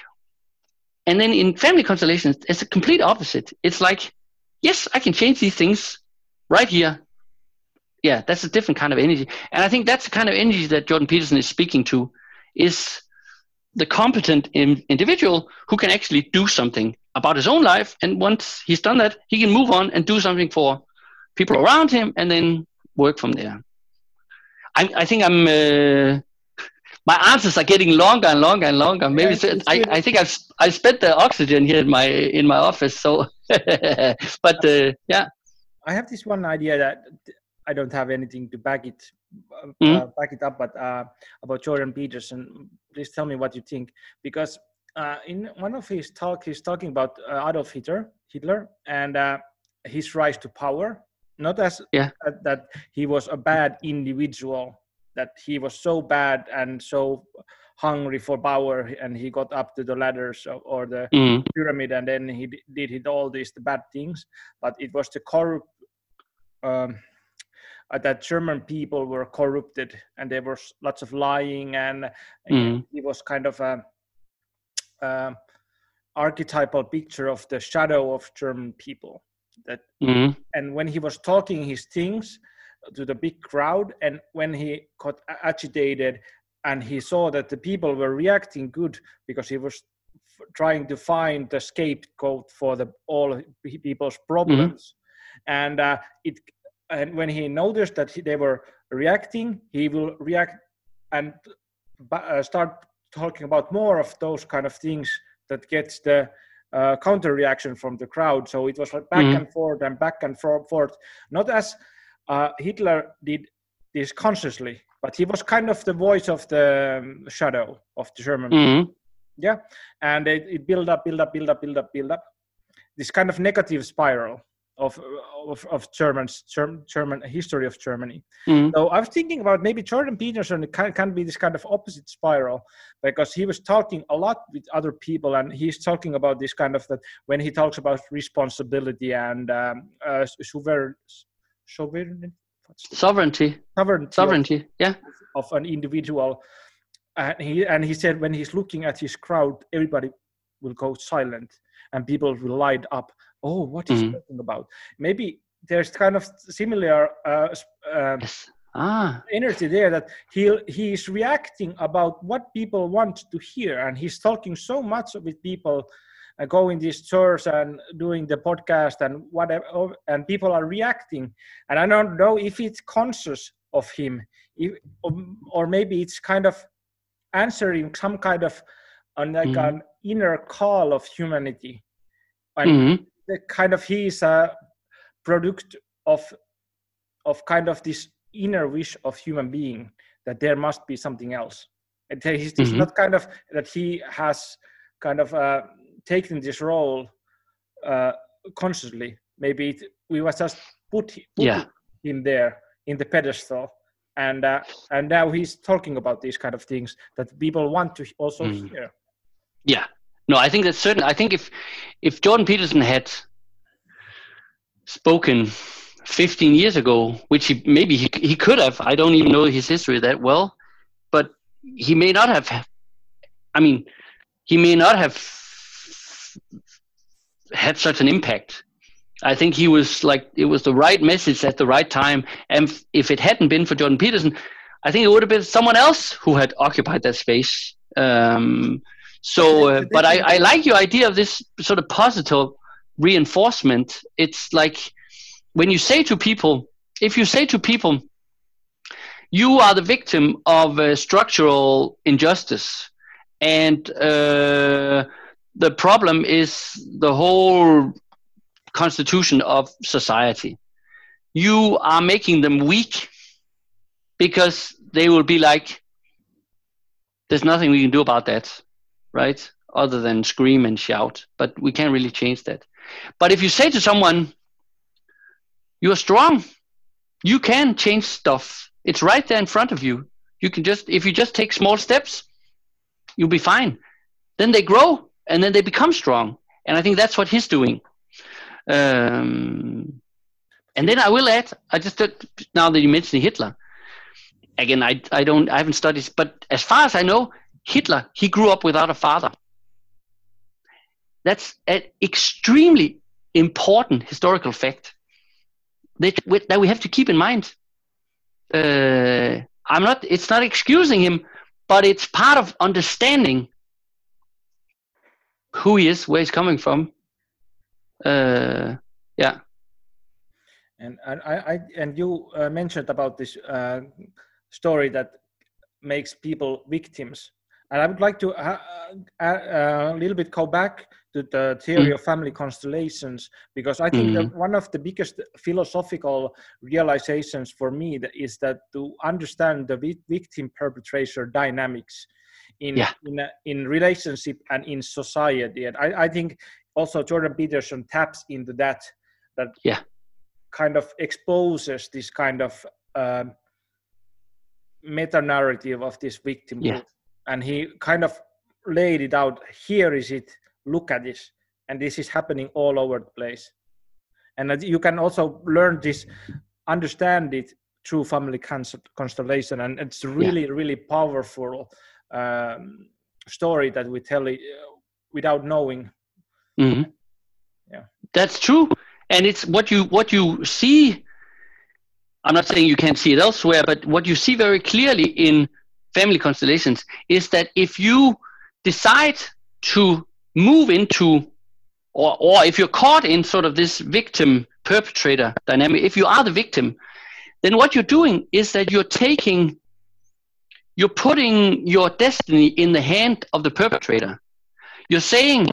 And then in Family Constellations, it's a complete opposite. It's like, yes, I can change these things right here. Yeah, that's a different kind of energy. And I think that's the kind of energy that Jordan Peterson is speaking to, is the competent in, individual who can actually do something about his own life. And once he's done that, he can move on and do something for people around him and then work from there. I, I think I'm, uh, my answers are getting longer and longer and longer. Maybe yes, so, I, I think I've I spent the oxygen here in my in my office. So, but uh, yeah, I have this one idea that I don't have anything to back it uh, mm-hmm. back it up, but uh, about Jordan Peterson. Please tell me what you think, because uh, in one of his talk, he's talking about uh, Adolf Hitler, Hitler, and uh, his rise to power. Not as yeah. uh, that he was a bad individual, that he was so bad and so hungry for power, and he got up to the ladders or, or the mm. pyramid, and then he d- did hit all these the bad things. But it was the corrupt, um, uh, that German people were corrupted, and there was lots of lying, and, and mm. he was kind of a, a archetypal picture of the shadow of German people. That mm. And when he was talking his things to the big crowd, and when he got agitated and he saw that the people were reacting good, because he was f- trying to find the scapegoat for the all people's problems, mm-hmm. and uh, it and when he noticed that he, they were reacting, he will react and uh, start talking about more of those kind of things that gets the uh, counter reaction from the crowd. So it was like back mm-hmm. and forth and back and forth, not as Uh, Hitler did this consciously, but he was kind of the voice of the um, shadow of the German mm-hmm. people. Yeah, and it, it build up, build up, build up, build up, build up. This kind of negative spiral of of, of German's German, German history of Germany. Mm-hmm. So I was thinking about maybe Jordan Peterson can, can be this kind of opposite spiral, because he was talking a lot with other people, and he's talking about this kind of that when he talks about responsibility and um, uh, sovereign. Sovereignty. Sovereignty. Sovereignty. Sovereignty. Of, yeah. Of an individual, and he and he said when he's looking at his crowd, everybody will go silent, and people will light up. Oh, what is he mm. talking about? Maybe there's kind of similar uh, uh, yes. ah. energy there, that he he is reacting about what people want to hear, and he's talking so much with people. Uh, going these tours and doing the podcast and whatever, and people are reacting, and I don't know if it's conscious of him, if, or, or maybe it's kind of answering some kind of uh, like mm-hmm. an inner call of humanity, and Mm-hmm. the kind of he is a product of of kind of this inner wish of human being that there must be something else. And he's, he's Mm-hmm. not kind of that he has kind of uh, taken this role uh, consciously. Maybe it, we was just put, put Yeah. him there in the pedestal, and uh, and now he's talking about these kind of things that people want to also Mm. hear. Yeah. No, I think that's certain. I think if if Jordan Peterson had spoken fifteen years ago, which he maybe he he could have, I don't even know his history that well, but he may not have. I mean, he may not have had such an impact. I think he was like, it was the right message at the right time. And if it hadn't been for Jordan Peterson, I think it would have been someone else who had occupied that space. Um, so, uh, but I, I like your idea of this sort of positive reinforcement. It's like when you say to people, if you say to people, you are the victim of a structural injustice, and uh, the problem is the whole constitution of society. You are making them weak because they will be like, there's nothing we can do about that, right? Other than scream and shout, but we can't really change that. But if you say to someone, you're strong, you can change stuff. It's right there in front of you. You can just, if you just take small steps, you'll be fine. Then they grow and then they become strong. And I think that's what he's doing. Um, and then I will add, I just now that you mentioned Hitler, again, I I don't I haven't studied, but as far as I know, Hitler, he grew up without a father. That's an extremely important historical fact that that we have to keep in mind. Uh, I'm not. It's not excusing him, but it's part of understanding who he is, where he's coming from. Uh, yeah, and I, I and you uh, mentioned about this uh, story that makes people victims, and I would like to uh, uh, a little bit go back to the theory mm. of family constellations, because I think mm. that one of the biggest philosophical realizations for me is that to understand the victim perpetrator dynamics in yeah. in, a, in relationship and in society, and I, I think also Jordan Peterson taps into that, that yeah. kind of exposes this kind of uh, meta-narrative of this victimhood. Yeah. And he kind of laid it out. Here is it. Look at this. And this is happening all over the place. And you can also learn this, understand it through family constellation. And it's really, yeah. really powerful um, story that we tell it without knowing. Mm-hmm. Yeah, that's true, and it's what you what you see. I'm not saying you can't see it elsewhere, but what you see very clearly in family constellations is that if you decide to move into, or or if you're caught in sort of this victim perpetrator dynamic, if you are the victim, then what you're doing is that you're taking, you're putting your destiny in the hand of the perpetrator. You're saying,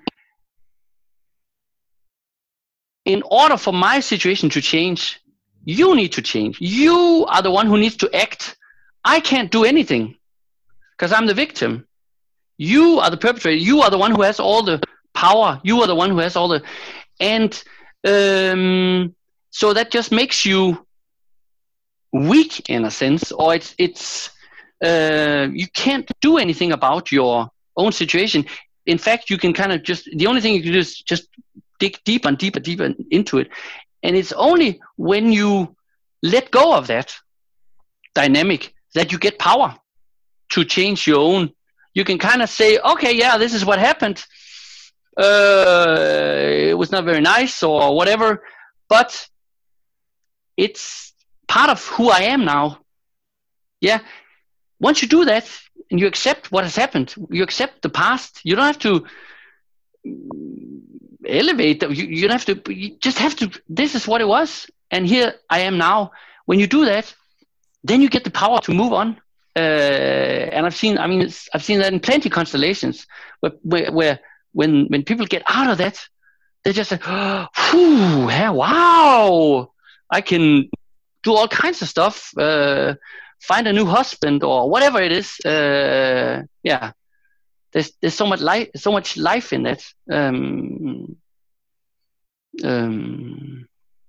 in order for my situation to change, you need to change. You are the one who needs to act. I can't do anything because I'm the victim. You are the perpetrator. You are the one who has all the power. You are the one who has all the... And um, so that just makes you weak in a sense, or it's, it's uh, you can't do anything about your own situation. In fact, you can kind of just... The only thing you can do is just dig deeper and deeper, deeper into it. And it's only when you let go of that dynamic that you get power to change your own. You can kind of say, okay, yeah, this is what happened. Uh, it was not very nice or whatever, but it's part of who I am now. Yeah. Once you do that and you accept what has happened, you accept the past, you don't have to elevate, you, you don't have to, you just have to, this is what it was, and here I am now. When you do that, then you get the power to move on. Uh, and I've seen, I mean, it's, I've seen that in plenty of constellations where, where, where when when people get out of that, they're just like, oh, whew, yeah, wow, I can do all kinds of stuff, uh, find a new husband or whatever it is. Uh, yeah, there's there's so much life, so much life in that. Um, um,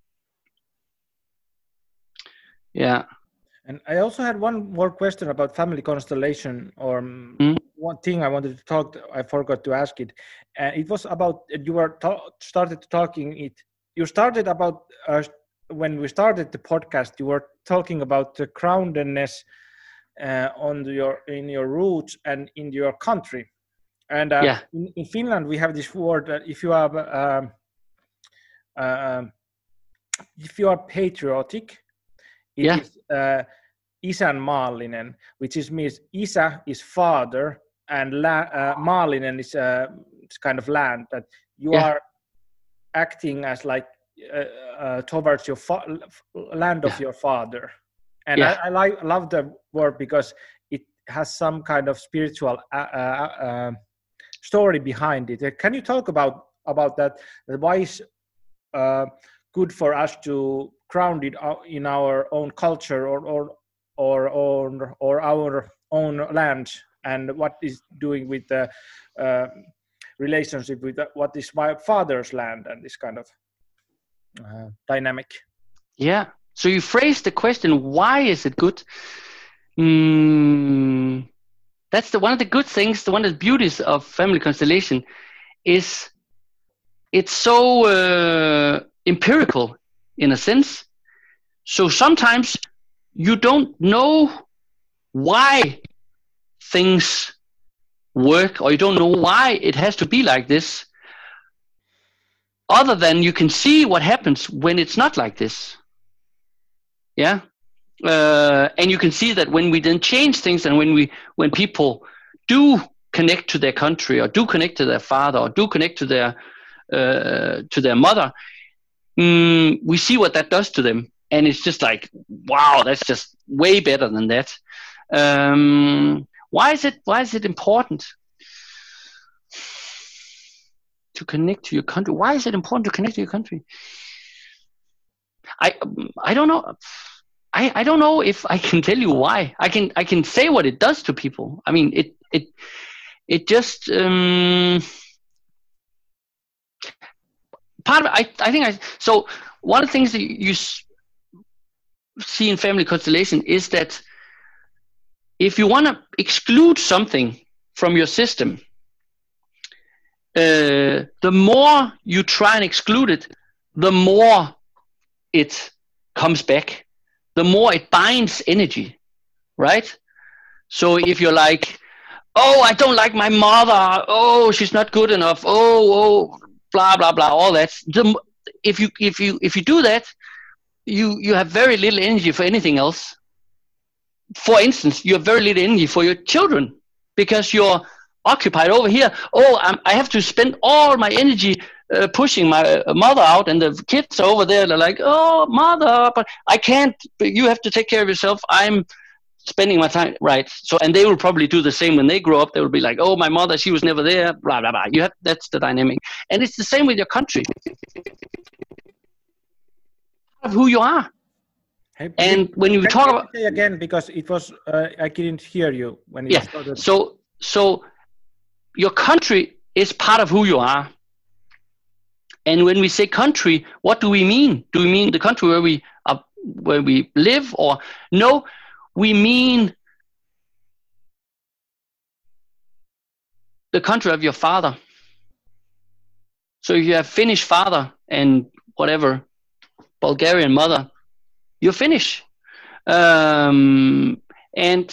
yeah. And I also had one more question about family constellation, or mm. one thing I wanted to talk. I forgot to ask it. Uh, it was about you were ta- started talking it. You started about uh, when we started the podcast. You were talking about the groundedness uh, on your in your roots and in your country. And uh, yeah. in, in Finland, we have this word that if you have um, uh, if you are patriotic, it yeah. is uh, isänmaallinen, which is means isä is father and la, uh, maallinen is uh, it's kind of land, that you yeah. are acting as like uh, uh, towards your fa- land of yeah. your father. And yeah. I, I like love the word because it has some kind of spiritual uh, uh, uh, story behind it. Can you talk about about that? Why is uh, good for us to ground it in our own culture or or or or, or our own land, and what is doing with the uh, relationship with the, what is my father's land, and this kind of uh, dynamic? Yeah. So you phrased the question, why is it good? Mm, that's the one of the good things, the one of the beauties of family constellation is it's so uh, empirical in a sense. So sometimes you don't know why things work, or you don't know why it has to be like this, other than you can see what happens when it's not like this. Yeah. Uh, and you can see that when we then change things, and when we when people do connect to their country, or do connect to their father, or do connect to their uh, to their mother, mm, we see what that does to them, and it's just like, wow, that's just way better than that. Um, why is it why is it important to connect to your country? Why is it important to connect to your country? I I don't know. I, I don't know if I can tell you why. I can I can say what it does to people. I mean, it it it just um, part of it, I I think I so one of the things that you see in family constellation is that if you want to exclude something from your system, uh, the more you try and exclude it, the more it comes back. The more it binds energy, right? So if you're like, oh, I don't like my mother, oh, she's not good enough, oh, oh, blah blah blah, all that. The, if you if you if you do that, you you have very little energy for anything else. For instance, you have very little energy for your children because you're occupied over here. Oh, I'm, I have to spend all my energy uh, pushing my mother out, and the kids are over there. They're like, oh, mother, but I can't. You have to take care of yourself. I'm spending my time, right? So, and they will probably do the same when they grow up. They will be like, oh, my mother, she was never there. Blah blah blah. You have that's the dynamic, and it's the same with your country. Of who you are. Hey, and please, when you talk about say again, because it was uh, I didn't hear you when you yeah. started. So so your country is part of who you are. And when we say country, what do we mean? Do we mean the country where we are, where we live, or no? We mean the country of your father. So if you have Finnish father and whatever Bulgarian mother, you're Finnish. Um, and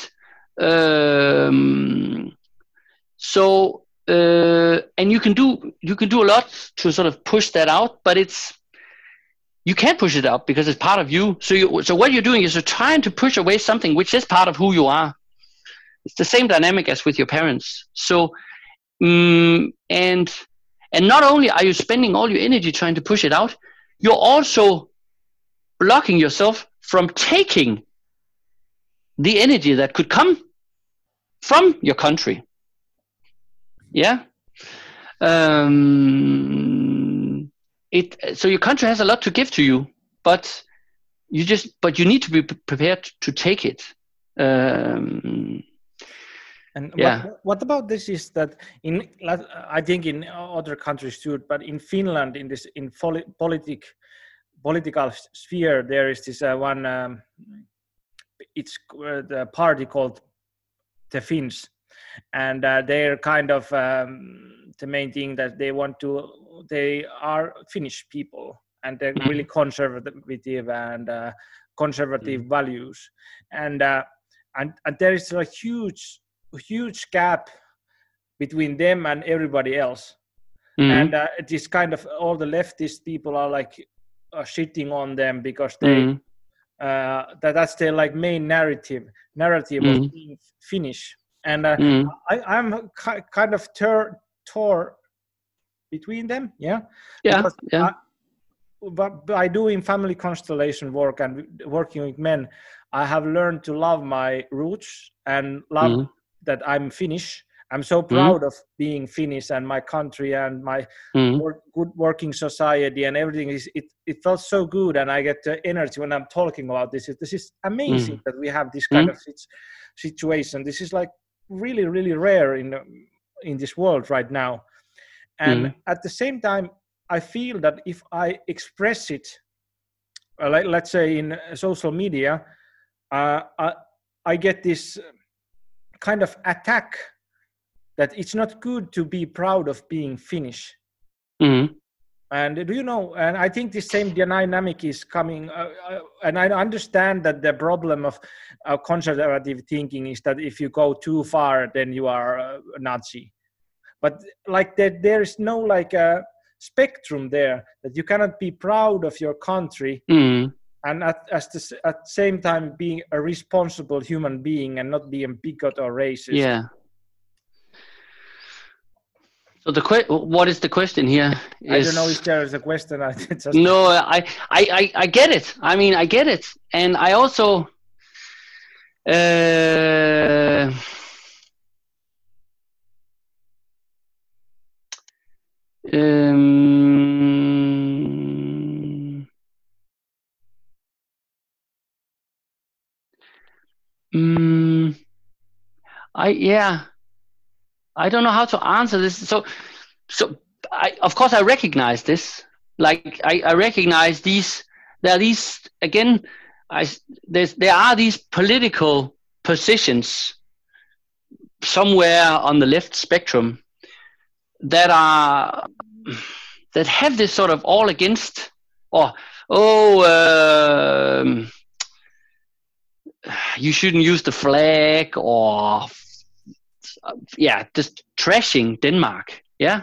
um, so uh, and you can do you can do a lot to sort of push that out, but it's you can't push it out because it's part of you. So you so what you're doing is you're trying to push away something which is part of who you are. It's the same dynamic as with your parents. So um, and and not only are you spending all your energy trying to push it out, you're also blocking yourself from taking the energy that could come from your country. Yeah. Um, it so your country has a lot to give to you, but you just but you need to be prepared to take it. Um, And yeah. what what about this is that in I think in other countries too, but in Finland in this in politic political sphere there is this uh, one um, it's uh, the party called the Finns, and uh, they're kind of um, the main thing that they want to they are Finnish people, and they're Mm-hmm. really conservative and uh, conservative mm-hmm. values, and uh, and and there is a huge huge gap between them and everybody else. Mm-hmm. And uh, this kind of all the leftist people are like uh, shitting on them because they mm-hmm. uh, that that's their like main narrative narrative mm-hmm. of being Finnish. And uh, mm-hmm. I, I'm ki- kind of tur- tore between them, yeah, yeah, yeah. I, but by doing family constellation work and working with men, I have learned to love my roots and love mm-hmm. that I'm Finnish. I'm so proud mm-hmm. of being Finnish and my country and my mm-hmm. work, good working society and everything. Is it? It felt so good, and I get the energy when I'm talking about this. This is amazing mm-hmm. that we have this kind mm-hmm. of situation. This is like really, really rare in in this world right now. And mm-hmm. at the same time, I feel that if I express it, uh, like, let's say in social media, uh, I, I get this kind of attack that it's not good to be proud of being Finnish. Mm-hmm. And do you know, and I think the same dynamic is coming, uh, uh, and I understand that the problem of uh, conservative thinking is that if you go too far, then you are a Nazi. But like that, there is no like a spectrum there that you cannot be proud of your country mm-hmm. and at, at the at the same time being a responsible human being and not being bigot or racist. Yeah. So the que- what is the question here? Is... I don't know if there is a question. I just... No, I, I, I, I get it. I mean, I get it, and I also. Uh, um, um, I yeah. I don't know how to answer this. So, so I, of course, I recognize this. Like I, I recognize these. There are these again. I there's there are these political positions somewhere on the left spectrum that are that have this sort of all against or oh um, you shouldn't use the flag or. Yeah, just trashing Denmark. Yeah.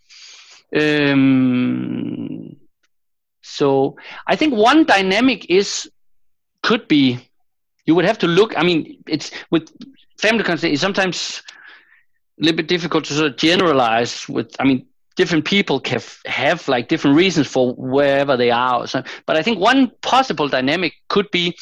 Um, so I think one dynamic is could be you would have to look. I mean, it's with family constellation. It's sometimes a little bit difficult to sort of generalize. With I mean, different people can have like different reasons for wherever they are. Or so, but I think one possible dynamic could be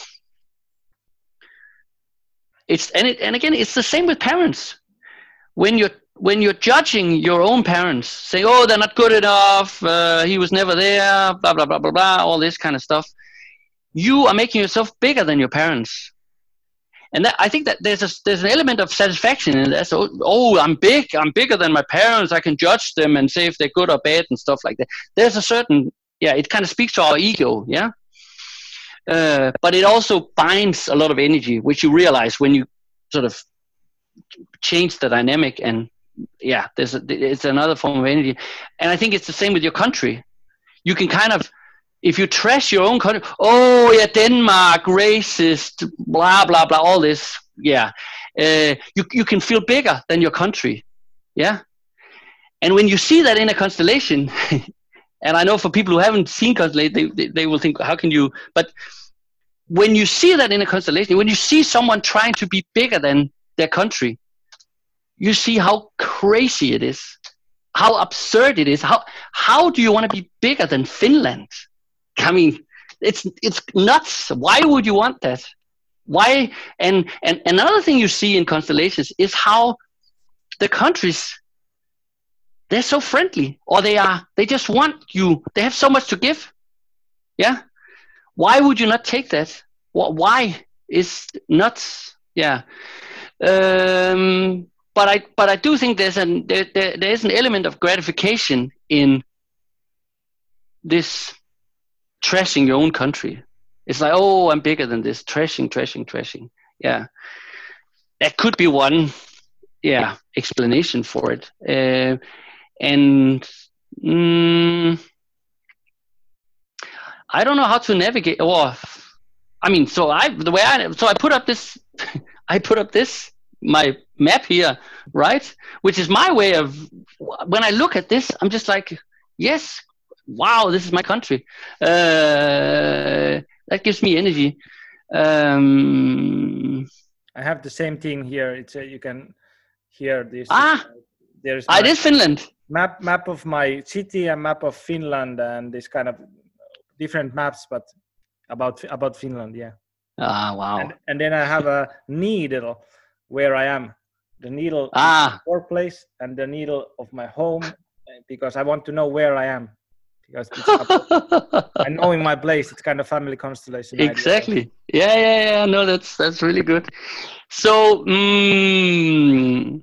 it's and it and again it's the same with parents. When you're when you're judging your own parents, saying, "Oh, they're not good enough. Uh, he was never there." Blah blah blah blah blah. All this kind of stuff. You are making yourself bigger than your parents, and that, I think that there's a there's an element of satisfaction in that. So, oh, I'm big. I'm bigger than my parents. I can judge them and say if they're good or bad and stuff like that. There's a certain yeah. It kind of speaks to our ego, yeah. Uh, but it also binds a lot of energy, which you realize when you sort of change the dynamic, and yeah, there's a, it's another form of energy, and I think it's the same with your country. You can kind of, if you trash your own country, oh yeah, Denmark, racist, blah blah blah, all this, yeah, uh, you you can feel bigger than your country, yeah. And when you see that in a constellation, and I know for people who haven't seen constellation, they, they they will think, how can you? But when you see that in a constellation, when you see someone trying to be bigger than their country, you see how crazy it is, how absurd it is. How how do you want to be bigger than Finland? I mean, it's it's nuts. Why would you want that? Why? And and another thing you see in constellations is how the countries they're so friendly, or they are, they just want you. They have so much to give. Yeah. Why would you not take that? Why is not, yeah. Um, but I, but I do think there's an, there, there, there is an element of gratification in this trashing your own country. It's like, oh, I'm bigger than this, trashing, trashing, trashing. Yeah. That could be one, yeah, explanation for it. Uh, and, mm, I don't know how to navigate. Or, I mean, so I the way I so I put up this, I put up this my map here, right? Which is my way of, when I look at this, I'm just like, yes, wow, this is my country. Uh, that gives me energy. Um, I have the same thing here. It's a, you can hear this. Ah, there's ah, it is Finland. Map map of my city and map of Finland, and this kind of different maps, but about about Finland, yeah. Ah, wow. And, and then I have a needle where I am. The needle ah. of my workplace and the needle of my home, because I want to know where I am. Because it's I know in my place, it's kind of family constellation. Exactly. Idea. Yeah, yeah, yeah. No, that's that's really good. So, um,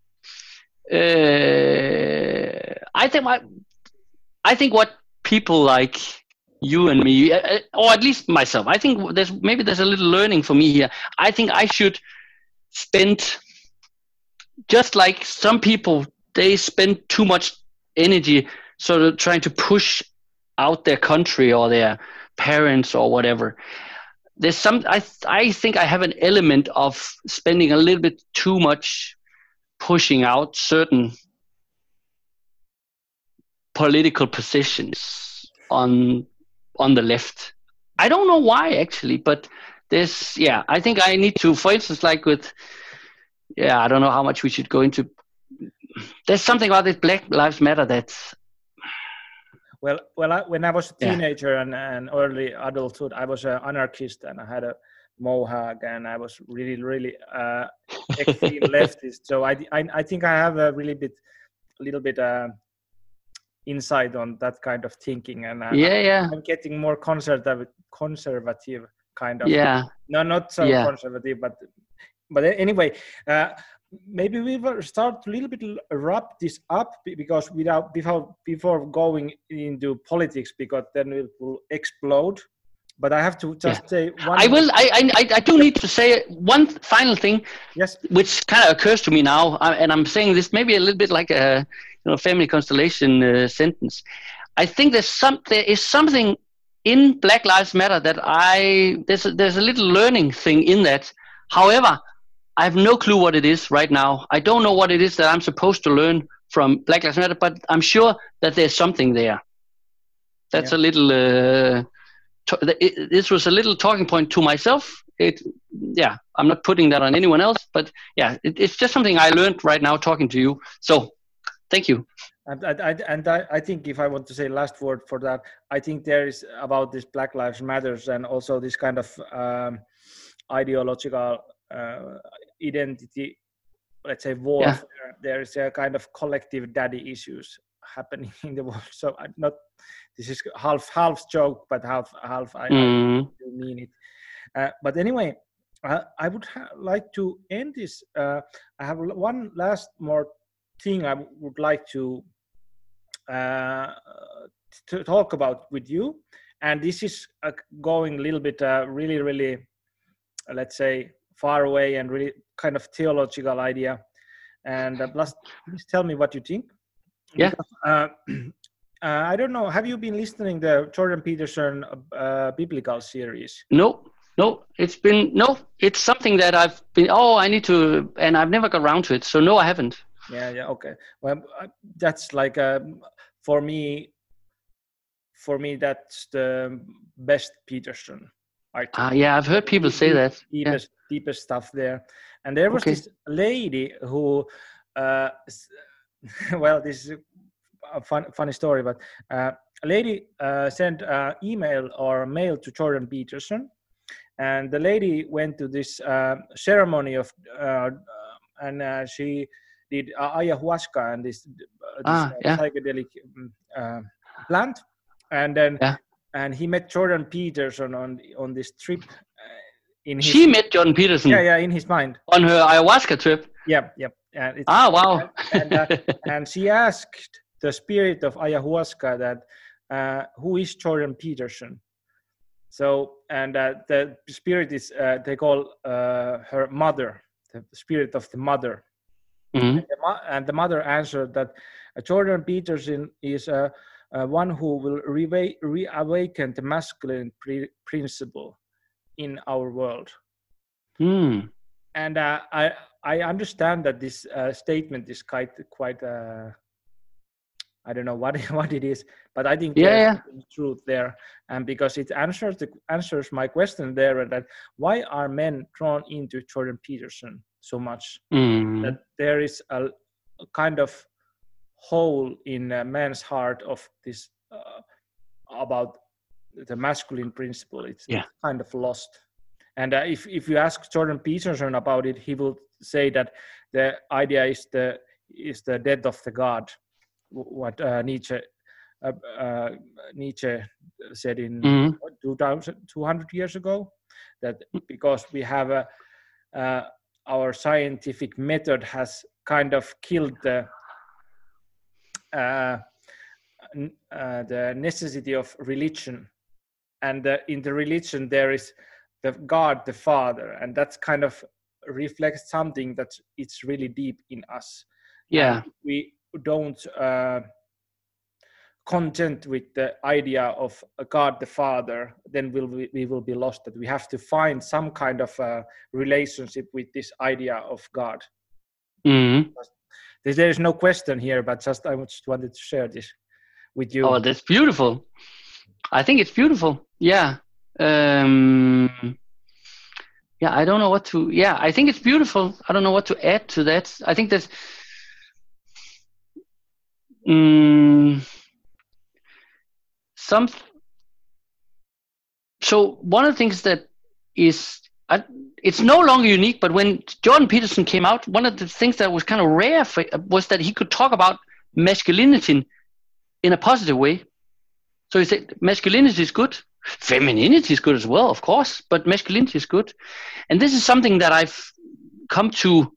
uh, I think my, I think what people like you and me, or at least myself, I think there's maybe there's a little learning for me here. I think I should spend, just like some people, they spend too much energy sort of trying to push out their country or their parents or whatever. There's some, I I think I have an element of spending a little bit too much pushing out certain political positions on on the left. I don't know why actually, but there's, yeah, I think I need to, for instance, like with, yeah, I don't know how much we should go into. There's something about this Black Lives Matter that's, well, well, I, when I was a teenager yeah. and, and early adulthood, I was an anarchist and I had a mohawk and I was really, really uh, extreme leftist. So I, I, I think I have a really bit, a little bit uh, insight on that kind of thinking, and uh, yeah, yeah, I'm getting more conservative, conservative kind of. Yeah. No, not so yeah. conservative, but but anyway. Uh, Maybe we will start a little bit wrap this up, because without before before going into politics, because then it will explode. But I have to just yeah. say one. I will. I, I I do need to say one final thing. Yes. Which kind of occurs to me now, and I'm saying this maybe a little bit like a you know family constellation uh, sentence. I think there's some there is something in Black Lives Matter that I there's a, there's a little learning thing in that. However, I have no clue what it is right now. I don't know what it is that I'm supposed to learn from Black Lives Matter, but I'm sure that there's something there. That's yeah. a little. Uh, to, it, this was a little talking point to myself. It, yeah, I'm not putting that on anyone else, but yeah, it, it's just something I learned right now talking to you. So, thank you. And I, and I, I think if I want to say last word for that, I think there is about this Black Lives Matters and also this kind of um, ideological. Uh, identity, let's say warfare. Yeah. There is a kind of collective daddy issues happening in the world. So I'm not. This is half half joke, but half half I, mm. I mean it. Uh, but anyway, uh, I would ha- like to end this. Uh, I have one last more thing I would like to uh, to talk about with you, and this is uh, going a little bit, uh, really, really, uh, let's say. Far away and really kind of theological idea, and uh, plus, please tell me what you think. Yeah. Because, uh, uh, I don't know. Have you been listening to the Jordan Peterson uh, biblical series? No, no. It's been no. It's something that I've been. Oh, I need to, and I've never got around to it. So no, I haven't. Yeah, yeah. Okay. Well, that's like uh, for me. For me, that's the best Peterson. Ah, uh, yeah, I've heard people deep, say that. Deepest, yeah. deepest stuff there. And there was okay. this lady who, uh, well, this is a fun, funny story, but uh, a lady uh, sent an email or mail to Jordan Peterson, and the lady went to this uh, ceremony of, uh, and uh, she did uh, ayahuasca and this, uh, this Ah, uh, yeah. psychedelic uh, plant, and then Yeah. and he met Jordan Peterson on on this trip. Uh, in his She met Jordan Peterson. Yeah, yeah, in his mind. On her ayahuasca trip. Yeah, yeah. And it's, ah, wow. and, uh, and she asked the spirit of ayahuasca that uh, who is Jordan Peterson? So, and uh, the spirit is, uh, they call uh, her mother, the spirit of the mother. Mm-hmm. And, the mo- and the mother answered that uh, Jordan Peterson is uh, uh, one who will re- reawaken the masculine pre- principle in our world. Mm. And uh, I I understand that this uh, statement is quite quite uh, I don't know what what it is, but I think yeah, there's yeah. truth there, and because it answers the answers my question there, that why are men drawn into Jordan Peterson so much? Mm. That there is a, a kind of hole in a man's heart of this uh, about the masculine principle. It's, yeah. it's kind of lost. And uh, if if you ask Jordan Peterson about it, he will say that the idea is the is the death of the God, what uh, Nietzsche uh, uh, Nietzsche said in mm-hmm. two thousand two hundred years ago, that because we have a uh, our scientific method has kind of killed the uh, uh, the necessity of religion, and uh, in the religion there is the God, the Father, and that's kind of reflects something that it's really deep in us. Yeah, and we don't uh, content with the idea of a God the Father, then we'll, we, we will be lost. That we have to find some kind of a relationship with this idea of God. mm-hmm. There is no question here, but just I just wanted to share this with you. Oh, that's beautiful. I think it's beautiful. Yeah. Um, yeah, I don't know what to. Yeah, I think it's beautiful. I don't know what to add to that. I think that. Um, some. So one of the things that is, uh, it's no longer unique. But when Jordan Peterson came out, one of the things that was kind of rare for, was that he could talk about masculinity in a positive way. So he said masculinity is good. Femininity is good as well, of course, but masculinity is good. And this is something that I've come to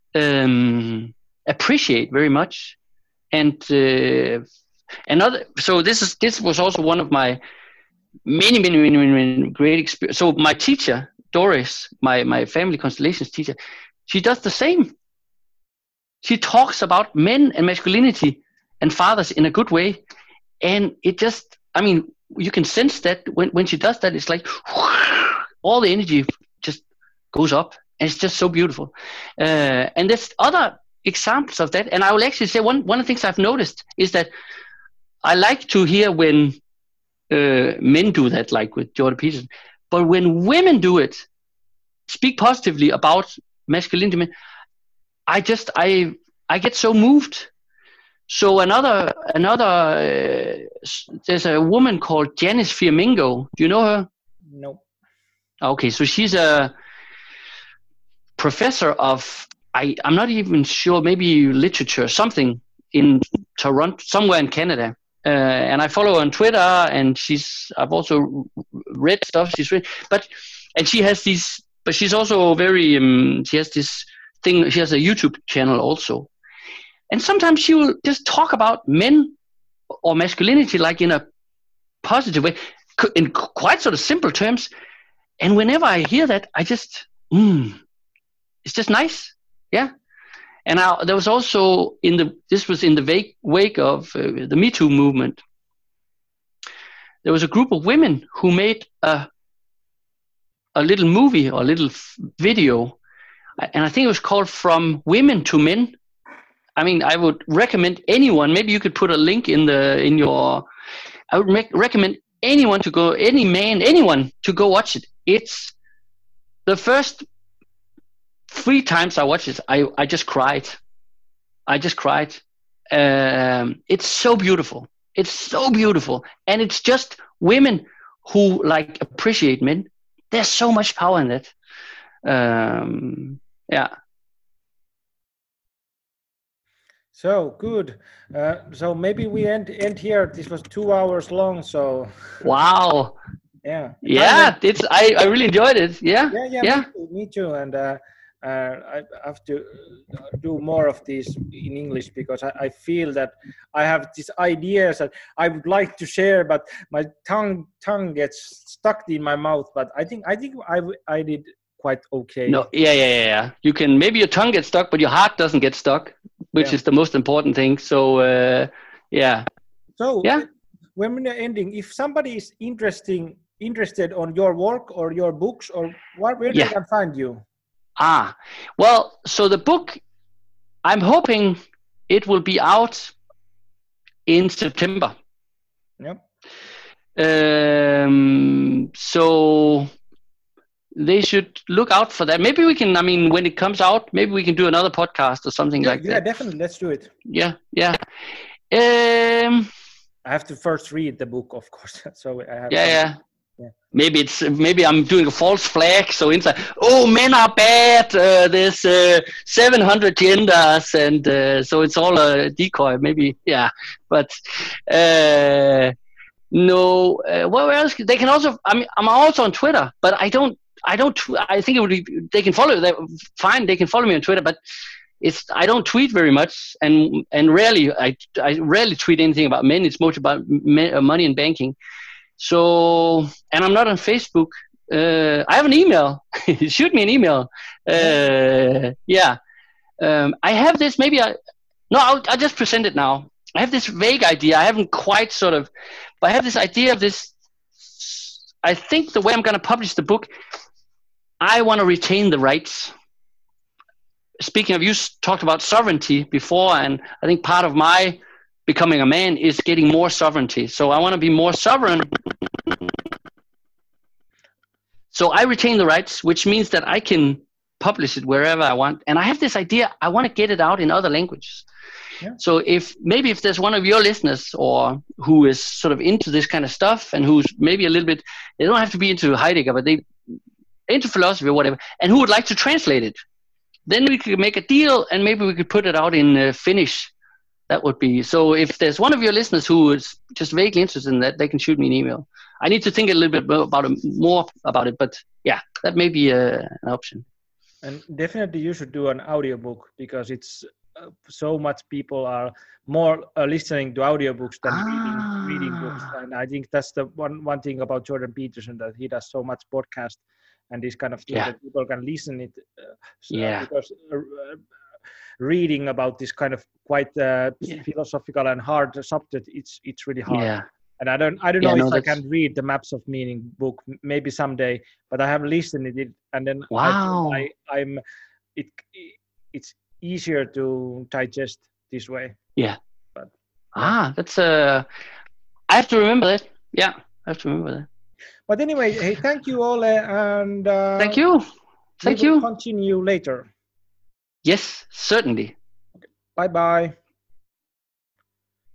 um, appreciate very much. And uh, another, so this is this was also one of my many, many, many, many great experience. So my teacher, Doris, my, my family constellations teacher, she does the same. She talks about men and masculinity and fathers in a good way. And it just, I mean, you can sense that when, when she does that, it's like all the energy just goes up, and it's just so beautiful. Uh, and there's other examples of that. And I will actually say one, one of the things I've noticed is that I like to hear when uh, men do that, like with Jordan Peterson. But when women do it, speak positively about masculinity, I just, I, I get so moved. So another, another, uh, there's a woman called Janice Fiamingo. Do you know her? No. Okay, so she's a professor of, I, I'm not even sure, maybe literature, something in Toronto, somewhere in Canada. Uh, and I follow her on Twitter, and she's, I've also read stuff she's written, but, and she has these, but she's also very, um, she has this thing, she has a YouTube channel also. And sometimes she will just talk about men or masculinity like in a positive way, in quite sort of simple terms. And whenever I hear that, I just, mm, it's just nice. Yeah. And I, there was also in the, this was in the wake, wake of uh, the Me Too movement. There was a group of women who made a, a little movie or a little video. And I think it was called From Women to Men. I mean, I would recommend anyone, maybe you could put a link in the, in your, I would make, recommend anyone to go, any man, anyone to go watch it. It's the first three times I watched it, I, I just cried. I just cried. Um, it's so beautiful. It's so beautiful. And it's just women who like appreciate men. There's so much power in that. Um, yeah. So good. Uh, so maybe we end end here. This was two hours long. So Wow. yeah, time went. Yeah, it's I, I really enjoyed it. Yeah. Yeah, yeah, me Yeah. too. Me too. And uh, uh, I have to uh, do more of these in English because I, I feel that I have these ideas that I would like to share, but my tongue tongue gets stuck in my mouth. But I think I think I w- I did quite okay. No, yeah, yeah, yeah, yeah. You can maybe your tongue gets stuck, but your heart doesn't get stuck, which Yeah. is the most important thing. So uh, yeah, So yeah, when we're ending, if somebody is interesting interested on your work or your books or what, where yeah. they can find you? Ah, well, so the book, I'm hoping it will be out in September. Yep. Um, so they should look out for that. Maybe we can, I mean, when it comes out, maybe we can do another podcast or something Yeah, like yeah, that. definitely. Let's do it. Yeah, yeah. Um, I have to first read the book, of course. So I have yeah, some. yeah. Yeah. Maybe it's maybe I'm doing a false flag. So inside, oh, men are bad. Uh, there's uh, seven hundred genders, and uh, so it's all a decoy. Maybe, yeah. But uh, no. Uh, what else? They can also. I mean, I'm also on Twitter, but I don't. I don't. Tw- I think it would be. They can follow. They fine. They can follow me on Twitter, but it's. I don't tweet very much, and and rarely. I I rarely tweet anything about men. It's mostly about me, uh, money and banking. So, and I'm not on Facebook. Uh, I have an email. Shoot me an email. Uh, yeah. Um, I have this, maybe I, no, I'll, I'll just present it now. I have this vague idea. I haven't quite sort of, but I have this idea of this. I think the way I'm going to publish the book, I want to retain the rights. Speaking of, you talked about sovereignty before, and I think part of my becoming a man is getting more sovereignty. So I want to be more sovereign. So I retain the rights, which means that I can publish it wherever I want. And I have this idea, I want to get it out in other languages. Yeah. So if maybe if there's one of your listeners or who is sort of into this kind of stuff and who's maybe a little bit, they don't have to be into Heidegger, but they into philosophy or whatever, and who would like to translate it, then we could make a deal and maybe we could put it out in uh, Finnish. That would be, so if there's one of your listeners who is just vaguely interested in that, they can shoot me an email. I need to think a little bit about it, more about it, but yeah, that may be uh, an option. And definitely you should do an audiobook because it's uh, so much people are more uh, listening to audiobooks than ah. reading, reading books. And I think that's the one, one thing about Jordan Peterson, that he does so much podcast and this kind of thing yeah. that people can listen it. Uh, so yeah. Because uh, reading about this kind of quite uh, yeah. philosophical and hard subject, it's it's really hard. Yeah. And I don't I don't yeah, know no, if that's... I can read the Maps of Meaning book, maybe someday, but I have listened to it, and then wow. I, I I'm it it's easier to digest this way. Yeah. But ah, that's uh I have to remember that. Yeah, I have to remember that. But anyway, hey, thank you, Ole, and uh, thank you. Thank we will you. Continue later. Yes, certainly. Okay. Bye bye.